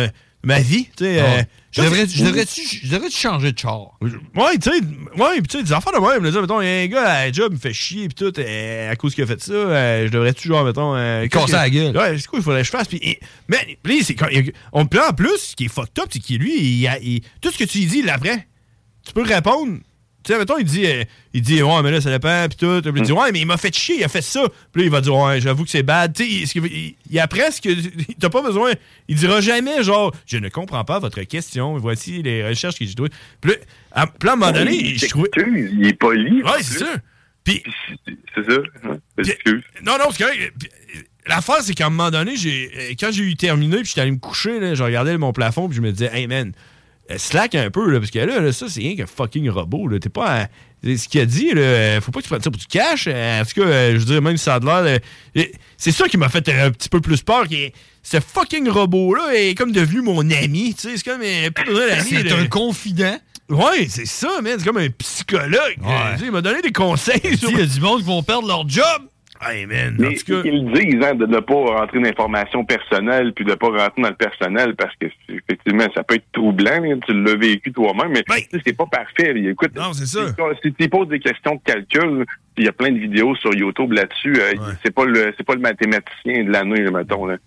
ma vie. Tu sais, je devrais-tu changer de char? Ouais, tu sais, des affaires de même. Là, mettons, un gars à la job me fait chier pis tout, à cause qu'il a fait ça, je devrais-tu, genre, mettons... casser la gueule. Ouais, c'est quoi, il faudrait que je fasse? Mais c'est quand... On me plaît en plus, ce qui est fucked up, c'est qu'il, lui, tout ce que tu lui dis, il l'apprend. Tu peux répondre... Tu sais, mettons, il dit, ouais, mais là, ça dépend, pis tout. Puis il dit, ouais, mais il m'a fait chier, il a fait ça. Puis là, il va dire, ouais, j'avoue que c'est bad. Tu sais, il apprend ce que. T'as pas besoin. Il dira jamais, genre, je ne comprends pas votre question. Voici les recherches que j'ai trouvées. Puis là, à un moment donné, je trouvais. Il est poli. Ouais, c'est ça. Puis. C'est ça. Excuse. Non, c'est correct. L'affaire, c'est qu'à un moment donné, quand j'ai eu terminé, puis j'étais allé me coucher, là, je regardais mon plafond, puis je me disais, hey, man. Slack un peu, là, parce que là, ça, c'est rien qu'un fucking robot. Là. T'es pas. Ce qu'il a dit, là, faut pas que tu prennes ça pour du cash. En tout cas, je veux dire, même si ça a de l'air. C'est ça qui m'a fait un petit peu plus peur. Ce fucking robot-là est comme devenu mon ami. Tu sais, c'est comme. C'est un confident. Ouais, c'est ça, man. C'est comme un psychologue. Ouais. Il m'a donné des conseils. Il y a du monde qui vont perdre leur job. Hey, man. Mais ils disent de ne pas rentrer dans l'information personnelle puis de ne pas rentrer dans le personnel parce que effectivement ça peut être troublant. Là, tu l'as vécu toi-même, mais c'est pas parfait. Là. Écoute, non, c'est ça. Si tu poses des questions de calcul, il y a plein de vidéos sur YouTube là-dessus. C'est pas le mathématicien de l'année, là, mettons. Là.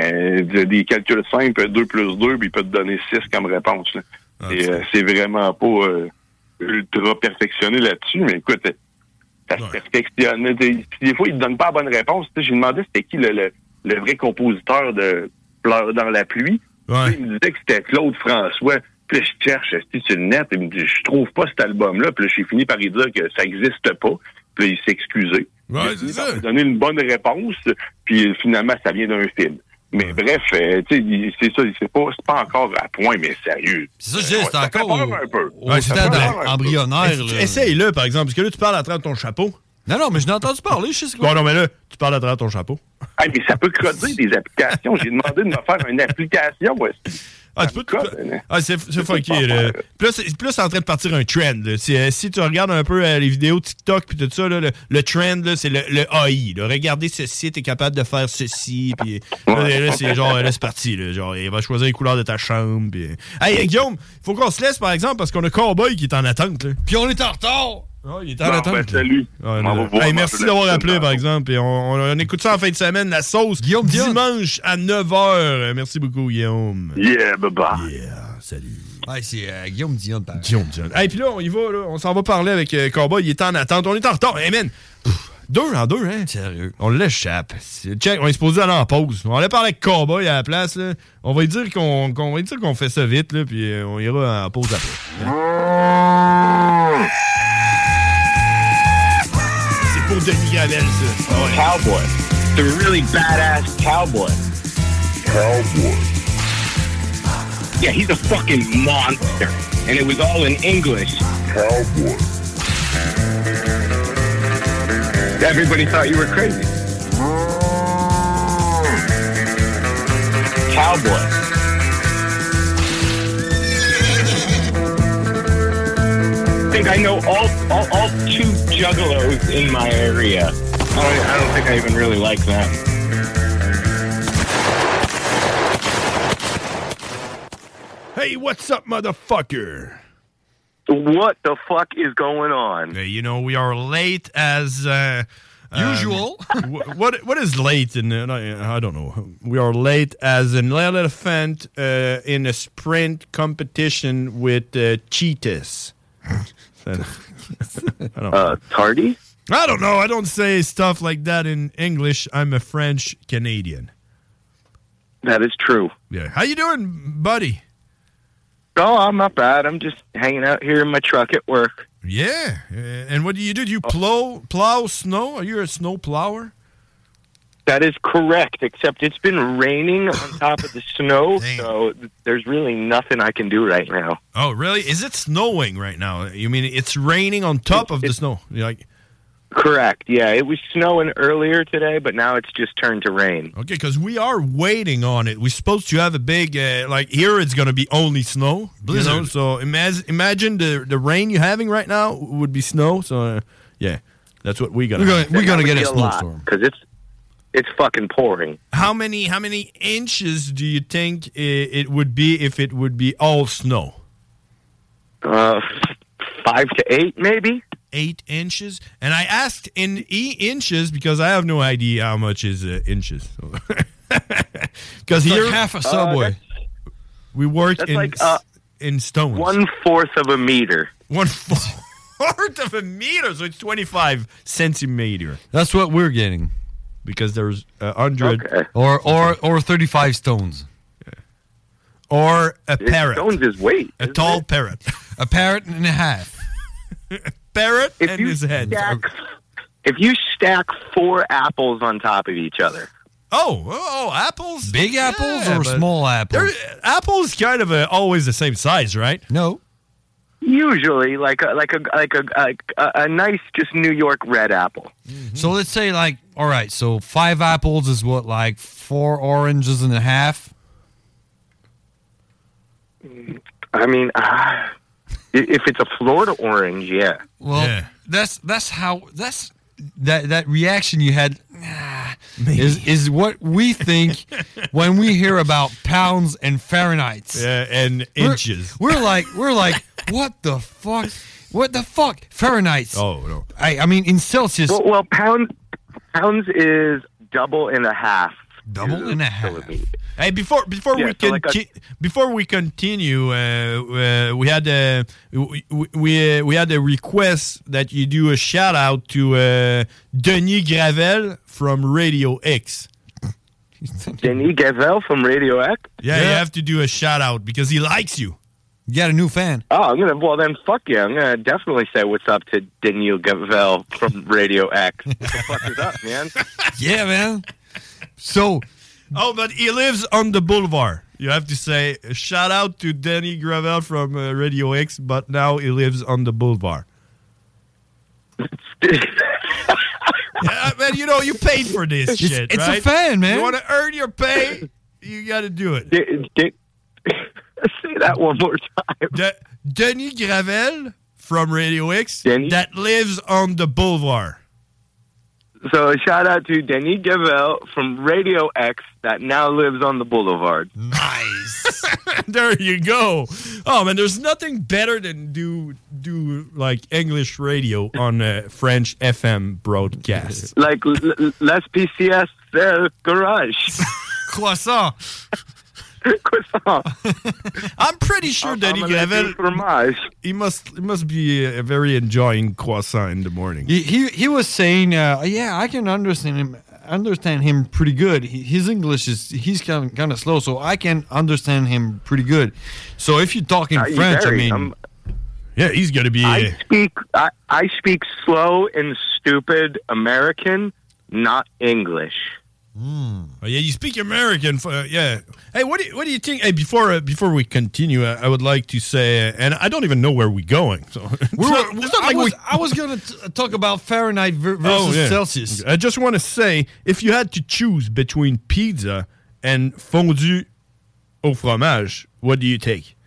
Des calculs simples, 2 plus 2, puis il peut te donner 6 comme réponse. Là. Et c'est vraiment pas ultra perfectionné là-dessus, mais écoute. Ça se perfectionne. Des fois, il ne donne pas la bonne réponse. J'ai demandé c'était qui le vrai compositeur de Pleurs dans la pluie. Ouais. Il me disait que c'était Claude François. Puis là, je cherche sur le net. Il me dit, je trouve pas cet album-là. Puis là, j'ai fini par lui dire que ça n'existe pas. Puis là, il s'est excusé. Ouais, c'est ça. Il a donné une bonne réponse. Puis finalement, ça vient d'un film. Mais bref, tu sais, c'est ça, c'est pas encore à point, mais sérieux. C'est ça, je dis, c'est encore un peu. Au stade embryonnaire. Essaye-le, par exemple, parce que là, tu parles à travers ton chapeau. Non, mais je l'ai entendu parler, je sais quoi. Bon, non, mais là, tu parles à travers ton chapeau. Hey, mais ça peut creuser des applications. J'ai demandé de me faire une application aussi. Ah, tu peux. C'est funky. Là. Plus, c'est en train de partir un trend. Si tu regardes un peu les vidéos TikTok puis tout ça, là, le trend, là, c'est le AI. Là. Regardez ceci, t'es capable de faire ceci. Puis là, c'est genre, là, c'est parti. Là, genre, il va choisir les couleurs de ta chambre. Pis... Hey, Guillaume, faut qu'on se laisse, par exemple, parce qu'on a Cowboy qui est en attente. Là. Puis on est en retard. Oh, il est en attente. Ben, salut. Hey, merci d'avoir appelé, par exemple. Et on écoute ça en fin de semaine, la sauce. Guillaume dimanche à 9h. Merci beaucoup, Guillaume. Yeah, bye-bye. Yeah, salut. Ouais, c'est Guillaume Dion. Guillaume Dion. Hey, puis là, on y va. Là. On s'en va parler avec Cowboy. Il est en attente. On est en retard. Hey, man. 2 en 2, hein? Sérieux. On l'échappe. Check, on est supposé aller en pause. On allait parler avec Cowboy à la place. Là. On va lui dire qu'on fait ça vite, là, puis on ira en pause après. Pour Denis Gravel, ça. Oh, ouais. Cowboy. The really badass cowboy. Cowboy. Yeah, he's a fucking monster. And it was all in English. Cowboy. Everybody thought you were crazy. Cowboy. I think I know all 2 juggalos in my area. I don't think I even really like them. Hey, what's up, motherfucker? What the fuck is going on? You know, we are late as usual. What is late in? I don't know. We are late as an elephant in a sprint competition with cheetahs. Tardy? I don't know. I don't say stuff like that in English. I'm a French Canadian. That is true. Yeah. How you doing, buddy? Oh, I'm not bad. I'm just hanging out here in my truck at work. Yeah. And what do? Do you plow snow? Are you a snow plower? That is correct, except it's been raining on top of the snow, so there's really nothing I can do right now. Oh, really? Is it snowing right now? You mean it's raining on top of the snow? Correct, yeah. It was snowing earlier today, but now it's just turned to rain. Okay, because we are waiting on it. We're supposed to have a big, here it's going to be only snow. Blizzard. You know? So imagine the rain you're having right now would be snow. So, yeah, that's what we're going to We're going to get a snowstorm. Because it's fucking pouring. How many inches do you think it would be if it would be all snow? 5 to 8, maybe. 8 inches, and I asked in inches because I have no idea how much is inches. Because here, like half a subway. We work in like, in stones. 1/4 of a meter. 1/4 of a meter, so it's 25 centimeter. That's what we're getting. Because there's 100 or 35 stones. Or a parrot. Stones is weight. A tall parrot. A parrot and a half. Parrot If and you his head. If you stack 4 apples on top of each other. Oh, apples? Big apples or small apples? Apples kind of always the same size, right? No. Usually, like a nice, just New York red apple. Mm-hmm. So let's say, like, all right, so 5 apples is what, like 4 oranges and a half? I mean, if it's a Florida orange, yeah. Well, that's that reaction you had is what we think when we hear about pounds and Fahrenheit. And inches. We're like, what the fuck? What the fuck? Fahrenheit. Oh no. I mean in Celsius. Well, pounds is double and a half. Double and a half. Hey, before we continue, we had a request that you do a shout out to Denis Gravel from Radio X. Denis Gravel from Radio X? Yeah, you have to do a shout out because he likes you. You got a new fan. Oh, then fuck yeah. I'm gonna definitely say what's up to Denis Gravel from Radio X. What the fuck is up, man? Yeah, man. So. Oh, but he lives on the boulevard. You have to say, shout out to Denis Gravel from Radio X, but now he lives on the boulevard. Yeah, man, you paid for this shit, it's right? It's a fan, man. You want to earn your pay, you got to do it. Say that one more time. Denis Gravel from Radio X that lives on the boulevard. So a shout out to Denis Gravel from Radio X that now lives on the boulevard. Nice. There you go. Oh man, there's nothing better than do like English radio on a French FM broadcast. Like Les PCS Garage. Croissant. I'm pretty sure Denis Gravel. He must be very enjoying croissant in the morning. He was saying, yeah, I can understand him pretty good. His English he's kind of slow, so I can understand him pretty good. So if you talk in French, yeah, he's gonna be. I speak slow and stupid American, not English. Oh, yeah, you speak American. Yeah. Hey, what do you think? Hey, before we continue, I would like to say, and I don't even know where we're going. So I was going to talk about Fahrenheit versus Celsius. I just want to say, if you had to choose between pizza and fondue au fromage, what do you take?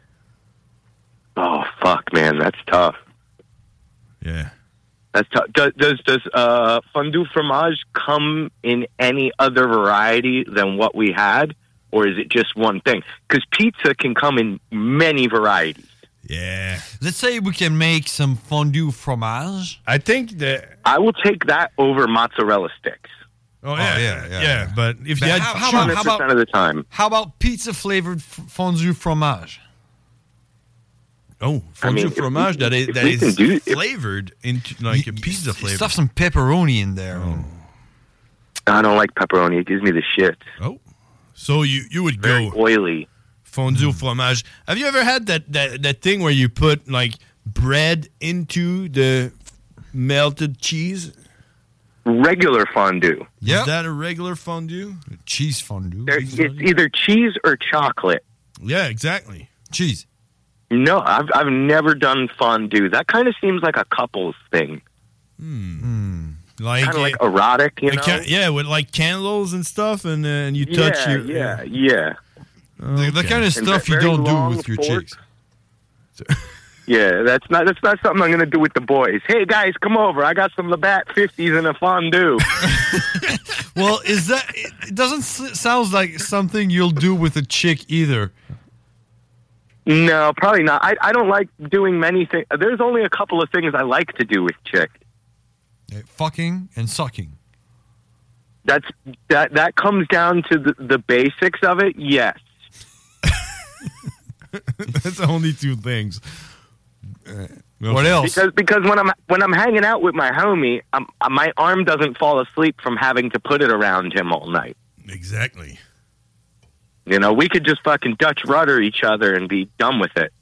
Oh fuck, man, that's tough. Yeah. That's tough. Does fondue fromage come in any other variety than what we had, or is it just one thing? Because pizza can come in many varieties. Yeah. Let's say we can make some fondue fromage. I think that I will take that over mozzarella sticks. Oh yeah. But if you had 100% of the time, how about pizza flavored fondue fromage? Oh, fondue fromage that is flavored into like a pizza flavor. Stuff some pepperoni in there. Oh. I don't like pepperoni. It gives me the shit. Oh, so you would Very go oily fondue fromage. Have you ever had that thing where you put like bread into the melted cheese? Regular fondue. Yeah, is that a regular fondue? Cheese fondue. It's either cheese or chocolate. Yeah, exactly. Cheese. No, I've never done fondue. That kind of seems like a couple's thing. Like kind of like erotic, you know? Yeah, with like candles and stuff, and you touch your... Yeah. The kind of stuff you don't do with your chicks. Yeah, that's not something I'm going to do with the boys. Hey, guys, come over. I got some Labatt 50s and a fondue. Well, it doesn't sound like something you'll do with a chick either. No, probably not. I don't like doing many things. There's only a couple of things I like to do with chick. Fucking and sucking. That comes down to the basics of it, yes. That's only two things. What else? Because when I'm hanging out with my homie, my arm doesn't fall asleep from having to put it around him all night. Exactly. You know, we could just fucking Dutch rudder each other and be done with it.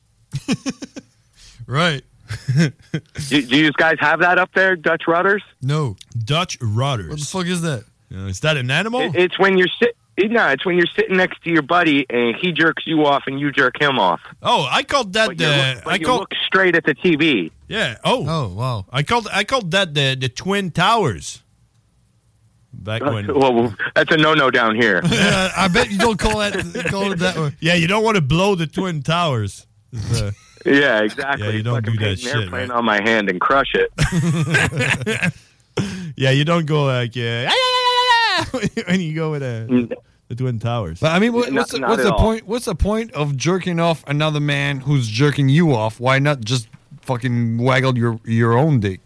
Right. do you guys have that up there, Dutch rudders? No. Dutch rudders. What the fuck is that? Is that an animal? It's when you're it's when you're sitting next to your buddy and he jerks you off and you jerk him off. Oh, I called that you look straight at the TV. Yeah. Oh, wow. I called that the Twin Towers. Back when. Well, that's a no-no down here. I bet you don't call it that way. Yeah, you don't want to blow the Twin Towers. Yeah, exactly. Yeah, you don't do that paint an shit. airplane on my hand and crush it. Yeah, you don't go like when you go with the Twin Towers. But I mean, what's the point? What's the point of jerking off another man who's jerking you off? Why not just fucking waggle your own dick?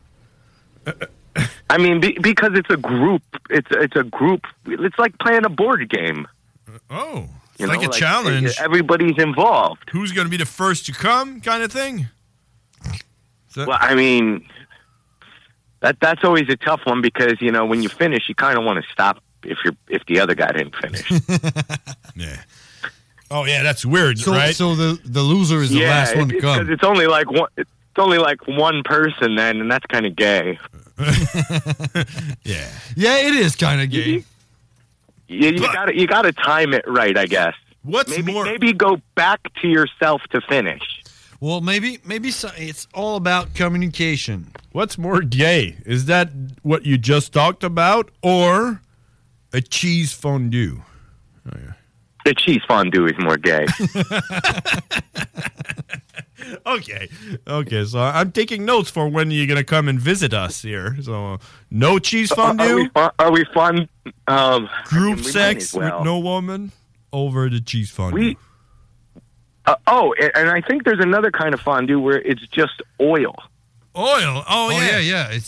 I mean, because it's a group. It's a group. It's like playing a board game. Oh, it's like a challenge. Everybody's involved. Who's going to be the first to come, kind of thing? Well, I mean, that's always a tough one because when you finish, you kind of want to stop if the other guy didn't finish. Yeah. Oh yeah, that's weird, right? So the loser is the last one to come. Because it's only like one. It's only like one person then, and that's kind of gay. Yeah. Yeah, it is kind of gay. You gotta time it right, I guess. Maybe go back to yourself to finish. Well, maybe it's all about communication. What's more gay? Is that what you just talked about, or a cheese fondue? Oh, yeah. The cheese fondue is more gay. Okay. So I'm taking notes for when you're gonna come and visit us here. So no cheese fondue. Are we fun? Group sex with no woman over the cheese fondue. And I think there's another kind of fondue where it's just oil. Oil? Oh yeah. It's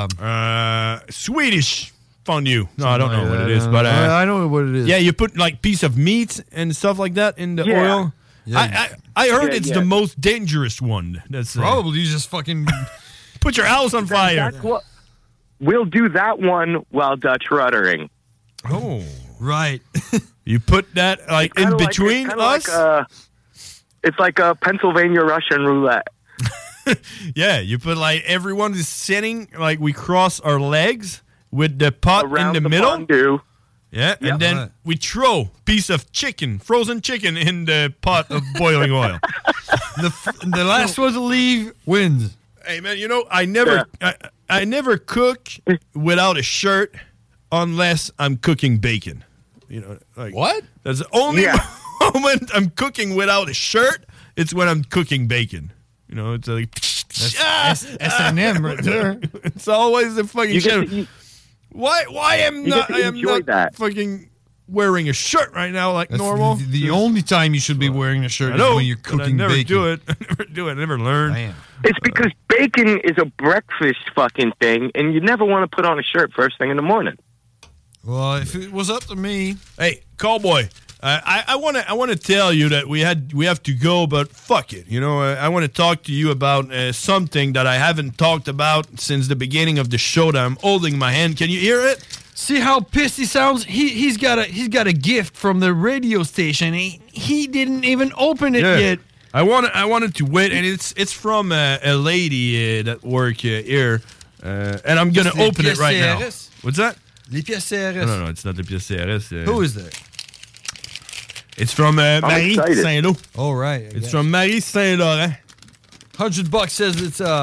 Swedish fondue. No, I don't know what it is, but I know what it is. Yeah, you put like piece of meat and stuff like that in the oil. Yeah. I heard it's the most dangerous one. That's probably just fucking put your house on fire. That's what we'll do that one while Dutch ruddering. Oh, right. You put that like in between us. It's like a Pennsylvania Russian roulette. Yeah, you put like everyone is sitting like we cross our legs with the pot around in the middle. Fondue. Yeah, and then we throw piece of chicken, frozen chicken, in the pot of boiling oil. The last one to leave wins. Hey man, I never cook without a shirt unless I'm cooking bacon. What? That's the only moment I'm cooking without a shirt. It's when I'm cooking bacon. It's like that's S&M right there. It's always the fucking shit. Why am not fucking wearing a shirt right now like That's normal? The only time you should be wearing a shirt is when you're cooking I never bacon. do it. I never do it. I never learn. Man. It's because bacon is a breakfast fucking thing, and you never want to put on a shirt first thing in the morning. Well, if it was up to me, hey, cowboy, I want to tell you that we have to go, but fuck it. I want to talk to you about something that I haven't talked about since the beginning of the show. That I'm holding in my hand. Can you hear it? See how pissed he sounds? He's got a gift from the radio station. He didn't even open it yet. I wanted to wait, and it's from a lady that work here, and I'm gonna open it right now. What's that? Les pièces CRS. No, it's not the pièces CRS. Who is that? It's from Marie Saint-Lô. Oh, right. It's from Marie Saint-Laurent. $100 says it's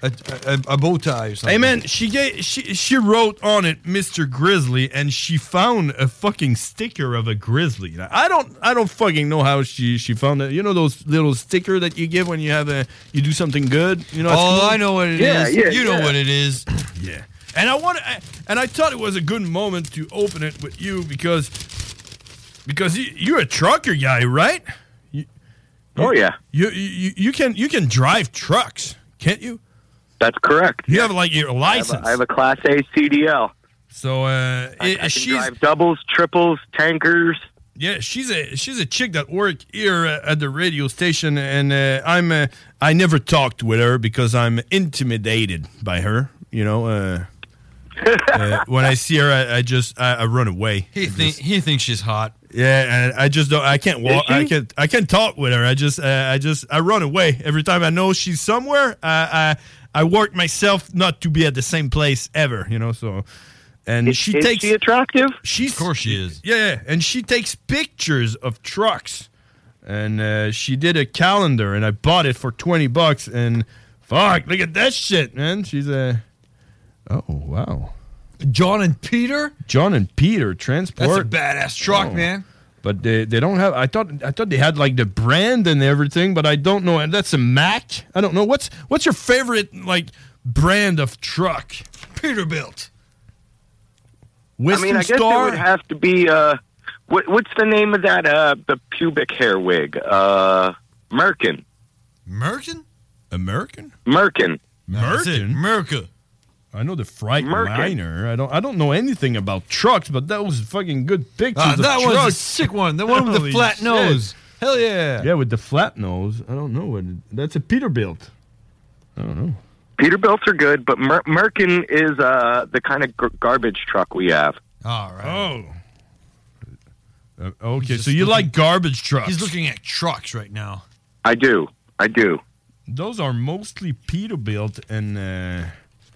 a bow tie or something. Hey man, she wrote on it Mr. Grizzly, and she found a fucking sticker of a grizzly. I don't fucking know how she found it. You know those little sticker that you give when you do something good. You know. I know what it is. You know what it is. Yeah. And I thought it was a good moment to open it with you because you're a trucker guy, right? You can drive trucks, can't you? That's correct. You have like your license. I have a Class A CDL. So I can drive doubles, triples, tankers. Yeah, she's a chick that worked here at the radio station, and I never talked with her because I'm intimidated by her. You know, when I see her, I run away. He thinks she's hot. Yeah, and I just don't. I can't walk. I can't talk with her. I run away every time I know she's somewhere. I work myself not to be at the same place ever. You know, so. And is she attractive? Of course she is. Yeah, and she takes pictures of trucks. And she did a calendar, and I bought it for $20. And fuck, look at that shit, man. She's a. Oh wow. John and Peter Transport. That's a badass truck, man. But they don't have. I thought they had like the brand and everything, but I don't know. And that's a Mack. I don't know. What's your favorite like brand of truck? Peterbilt. Western I guess Star? it would have to be. What's the name of that? The pubic hair wig. Merkin. Merkin? American? Merkin. Merkin. I know the Freightliner. I don't know anything about trucks, but that was fucking good pictures of that trucks. was a sick one. The one with the flat nose. Hell yeah. Yeah, with the flat nose. I don't know that's a Peterbilt. I don't know. Peterbilts are good, but Merkin is the kind of garbage truck we have. All right. Oh. Okay, so you like garbage trucks. He's looking at trucks right now. I do. Those are mostly Peterbilt and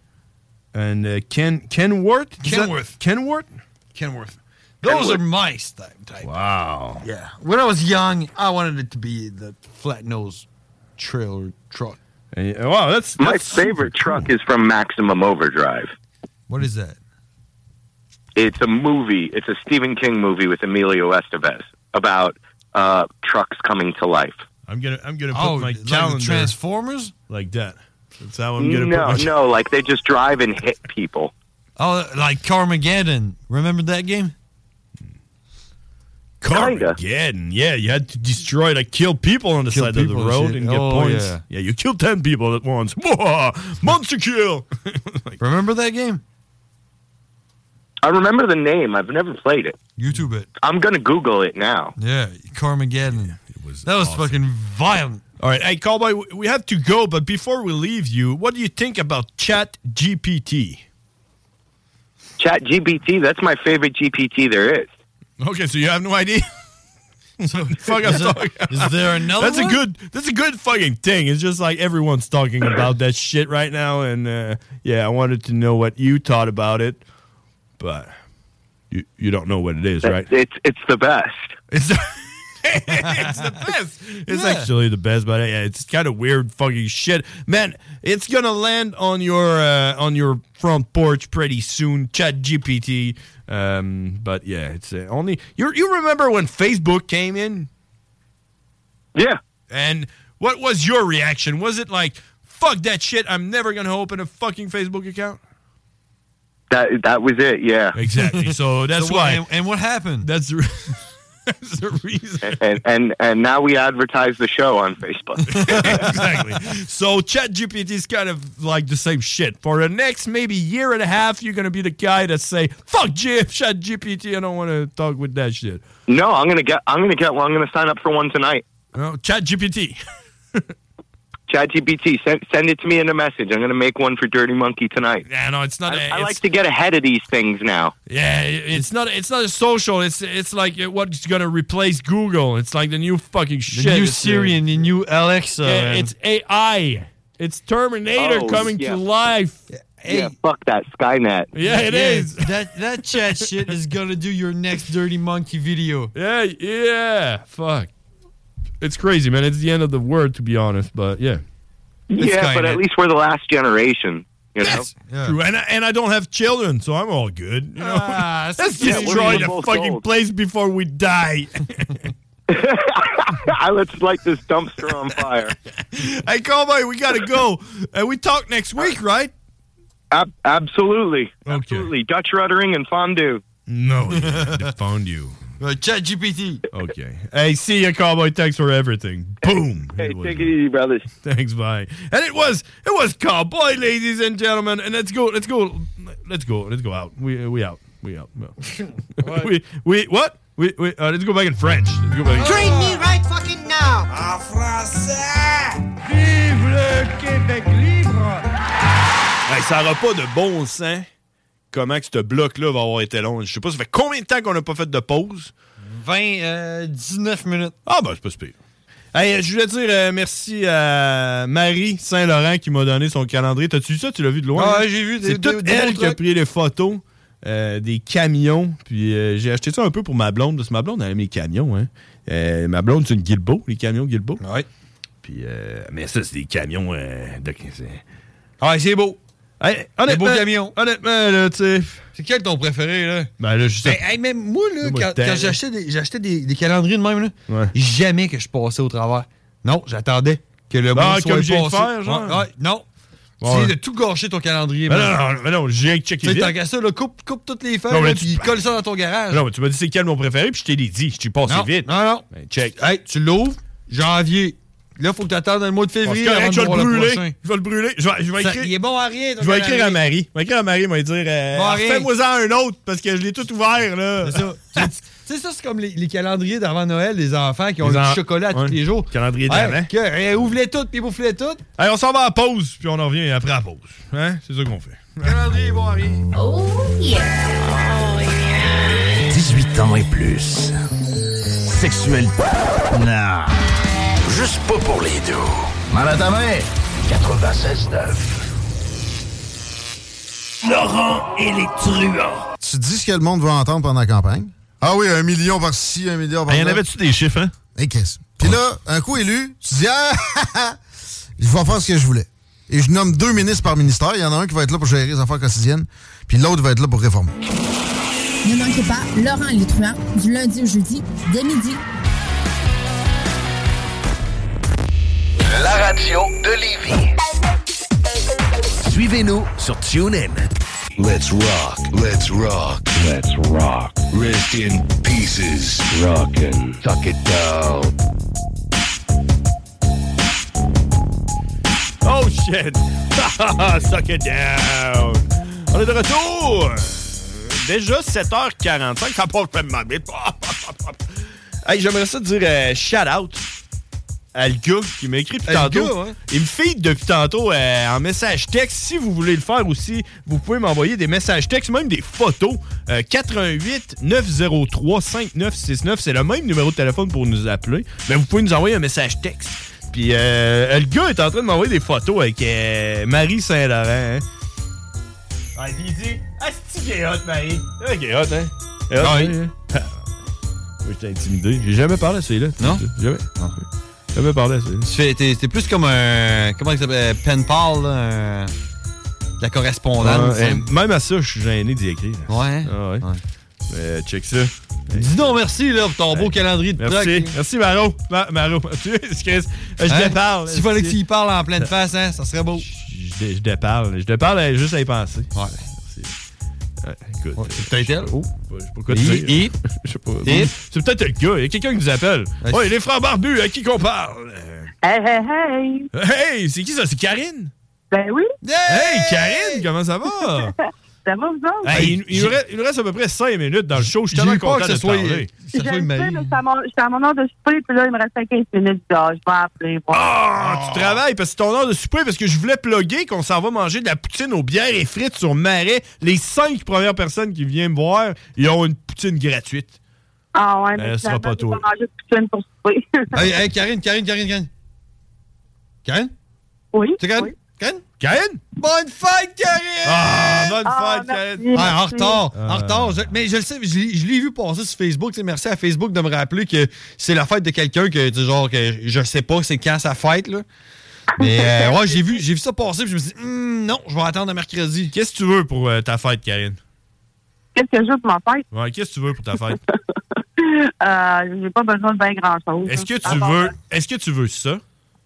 Kenworth? Kenworth. Those are my type. Wow. Yeah. When I was young, I wanted it to be the flat nose trailer truck. Wow, that's my favorite truck is from Maximum Overdrive. What is that? It's a movie. It's a Stephen King movie with Emilio Estevez about trucks coming to life. I'm gonna put my calendar like Transformers like that. That's how I'm gonna put No, like they just drive and hit people. Oh, like Carmageddon. Remember that game? Carmageddon. Yeah, you had to destroy, kill people on the side of the road and get points. Yeah, you killed 10 people at once. Whoa, monster kill. Remember that game? I remember the name. I've never played it. YouTube it. I'm going to Google it now. Yeah, Carmageddon. That was awesome. Fucking violent. All right, hey, Cowboy, we have to go, but before we leave you, what do you think about ChatGPT? ChatGPT, that's my favorite GPT there is. Okay, so you have no idea? Is there another one? That's a good fucking thing. It's just like everyone's talking about that shit right now, and I wanted to know what you thought about it, but you don't know what it is, right? It's the best. It's the best. It's actually the best, but it's kind of weird fucking shit. Man, it's gonna land on your front porch pretty soon, ChatGPT. But yeah, it's only you remember when Facebook came in? Yeah. And what was your reaction? Was it like, fuck that shit, I'm never gonna open a fucking Facebook account? That was it, yeah. Exactly. So that's why. And what happened? That's the reason. And now we advertise the show on Facebook. Exactly. So ChatGPT is kind of like the same shit. For the next maybe year and a half, you're going to be the guy that say, fuck ChatGPT, I don't want to talk with that shit. No, I'm going to sign up for one tonight. Oh, ChatGPT. ChatGPT, send it to me in a message. I'm going to make one for Dirty Monkey tonight. Yeah, no, it's not. I like to get ahead of these things now. Yeah, it's not a social. It's like what's going to replace Google. It's like the new fucking shit. The new Siri and the new Alexa. Yeah, it's AI. It's Terminator coming to life. Hey. Yeah, fuck that Skynet. Yeah, it is. That chat shit is going to do your next Dirty Monkey video. Yeah, fuck. It's crazy, man. It's the end of the world, to be honest, but yeah. Yeah, but at least we're the last generation. You know? True. And I don't have children, so I'm all good. You know? Let's yeah, destroy we're the fucking old. place before we die. Let's light this dumpster on fire. Hey, Cowboy, we gotta go. We talk next week, right? Absolutely. Absolutely. Dutch ruddering and fondue. No, the fondue. ChatGPT. Okay. Hey, see ya, Cowboy. Thanks for everything. Boom. Hey, take it easy, brothers. Thanks, bye. And it was Cowboy, ladies and gentlemen. And let's go out. We out. What? Let's go back in French. Let's go back. Train me right fucking now. En français. Vive le Québec libre. Hey, ça n'aura pas de bon sens comment que ce bloc-là va avoir été long. Je sais pas, ça fait combien de temps qu'on n'a pas fait de pause? 19 minutes. Ah, ben, c'est pas si pire. Hey, je voulais dire merci à Marie Saint-Laurent qui m'a donné son calendrier. T'as-tu vu ça? Tu l'as vu de loin? Ah, hein? j'ai vu. C'est toute elle qui a pris les photos des camions. Puis j'ai acheté ça un peu pour ma blonde. Parce que ma blonde, elle aime les camions. Hein. Ma blonde, c'est une Guilbeault, les camions Guilbeault. Ouais. Puis, mais ça, c'est des camions Ah, c'est beau. Hey, des beaux camions. Honnêtement, là, tu sais. C'est quel ton préféré, là? Ben là, je sais. Hey, même moi, là, quand j'achetais des calendriers de même, là, jamais que je passais au travers. Non, j'attendais que le monde soit comme j'ai passé. faire, genre? Ouais, non. Ouais. C'est de tout gâcher ton calendrier. Non, j'ai checké vite. Tant qu'à ça, là, coupe toutes les feuilles, puis colle ça dans ton garage. Non, mais tu m'as dit c'est quel mon préféré, puis je t'ai dit. Je t'ai passé vite. Non. Ben, check. Hey, tu l'ouvres, janvier. Là, il faut que tu attendes le mois de février avant de je vais voir le le brûler. prochain. Je vais le brûler. Je vais écrire. Il est bon à rien. Je vais écrire à Marie. Je vais écrire à Marie, il va dire fais-moi-en un autre parce que je l'ai tout ouvert, là. C'est ça. Tu sais, ça, c'est comme les calendriers d'avant Noël des enfants qui ont du chocolat tous les jours. Calendrier d'avant. Ouvre-les toutes, puis bouffe-les toutes. Allez, on s'en va à pause, puis on en revient après la pause. Hein? C'est ça qu'on fait. Calendrier, bon à rien. Oh yeah. 18 ans et plus. Sexuel. Non. Juste pas pour les deux. Mal à ta main. 96.9. Laurent et les truands. Tu dis ce que le monde veut entendre pendant la campagne? Ah oui, 1 million par-ci, 1 million par-là. Y en avait-tu des chiffres, hein? Et qu'est-ce? Puis là, un coup élu, tu dis je vais faire ce que je voulais. Et je nomme 2 ministres par ministère. Il y en a un qui va être là pour gérer les affaires quotidiennes, puis l'autre va être là pour réformer. Ne manquez pas Laurent et les truands du lundi au jeudi, dès midi. La radio de Lévis. Suivez-nous sur TuneIn. Let's rock, let's rock, let's rock. Rest in pieces. Rockin'. Tuck it down. Oh shit! Suck it down! On est de retour! Déjà 7h45, ça passe tellement vite. Hey, j'aimerais ça te dire shout-out à le gars qui m'a écrit depuis tantôt. Gars, ouais. Il me feed depuis tantôt en message texte. Si vous voulez le faire aussi, vous pouvez m'envoyer des messages textes, même des photos. 88 903 5969, c'est le même numéro de téléphone pour nous appeler. Mais vous pouvez nous envoyer un message texte. Puis le gars est en train de m'envoyer des photos avec Marie Saint-Laurent. Hein? Ah, il dit c'est-tu qui est hot, Marie? C'est qui est hot, hein? Hot, oui. Moi, j'étais intimidé. J'ai jamais parlé à celui-là. Non? Jamais. Non. Jamais parlé à celui-là. T'es plus comme un. Comment il s'appelle? Pen pal, là. De la correspondance. Même à ça, je suis gêné d'y écrire. Ouais. Ah, ouais. Mais check ça. Dis donc merci là, pour ton beau calendrier de Merci. trucs. Merci, Maro. Maro. Je déparle. S'il fallait que tu y parles en pleine face, hein, ça serait beau. Je déparle. Je déparle juste à y penser. Ouais. Écoute. Ouais, c'est peut-être elle. Oh, je sais pas quoi te dire. Je sais pas. C'est peut-être le gars. Il y a quelqu'un qui nous appelle. Ouais, les frères barbus, à qui qu'on parle? Hey! Hey, c'est qui ça? C'est Karine? Ben oui. Hey, Karine, comment ça va? Ça va, vous autres? Hey, il nous reste à peu près 5 minutes dans le show. Je suis tellement content de te parler. Je le sais, mais j'étais à mon heure de souper, puis là, il me restait 15 minutes. Je vais appeler. Tu travailles parce que c'est ton heure de souper, parce que je voulais plugger qu'on s'en va manger de la poutine aux bières et frites sur Marais. Les 5 premières personnes qui viennent me voir, ils ont une poutine gratuite. Ah ouais, mais ce sera pas toi. Je vais manger de poutine pour souper. Hey, Karine. Karine? Oui. C'est Karine? Oui. Karine? Bonne fête, Karine! Bonne fête, Karine! En retard. Mais je le sais, je l'ai vu passer sur Facebook. Merci à Facebook de me rappeler que c'est la fête de quelqu'un que, genre, que je sais pas c'est quand sa fête, là. Mais ouais, j'ai vu ça passer, puis je me suis dit, non, je vais attendre à mercredi. Qu'est-ce que tu veux pour ta fête, Karine? Qu'est-ce que je veux pour ma fête? Ouais, qu'est-ce que tu veux pour ta fête? J'ai pas besoin de bien grand-chose. Est-ce que tu veux ça?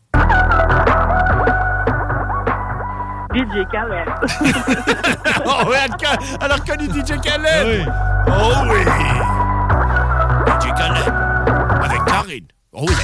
DJ Khaled. Oh oui, elle a reconnu DJ Khaled! Oui. Oh oui! DJ Khaled! Avec Karine! Oh oui!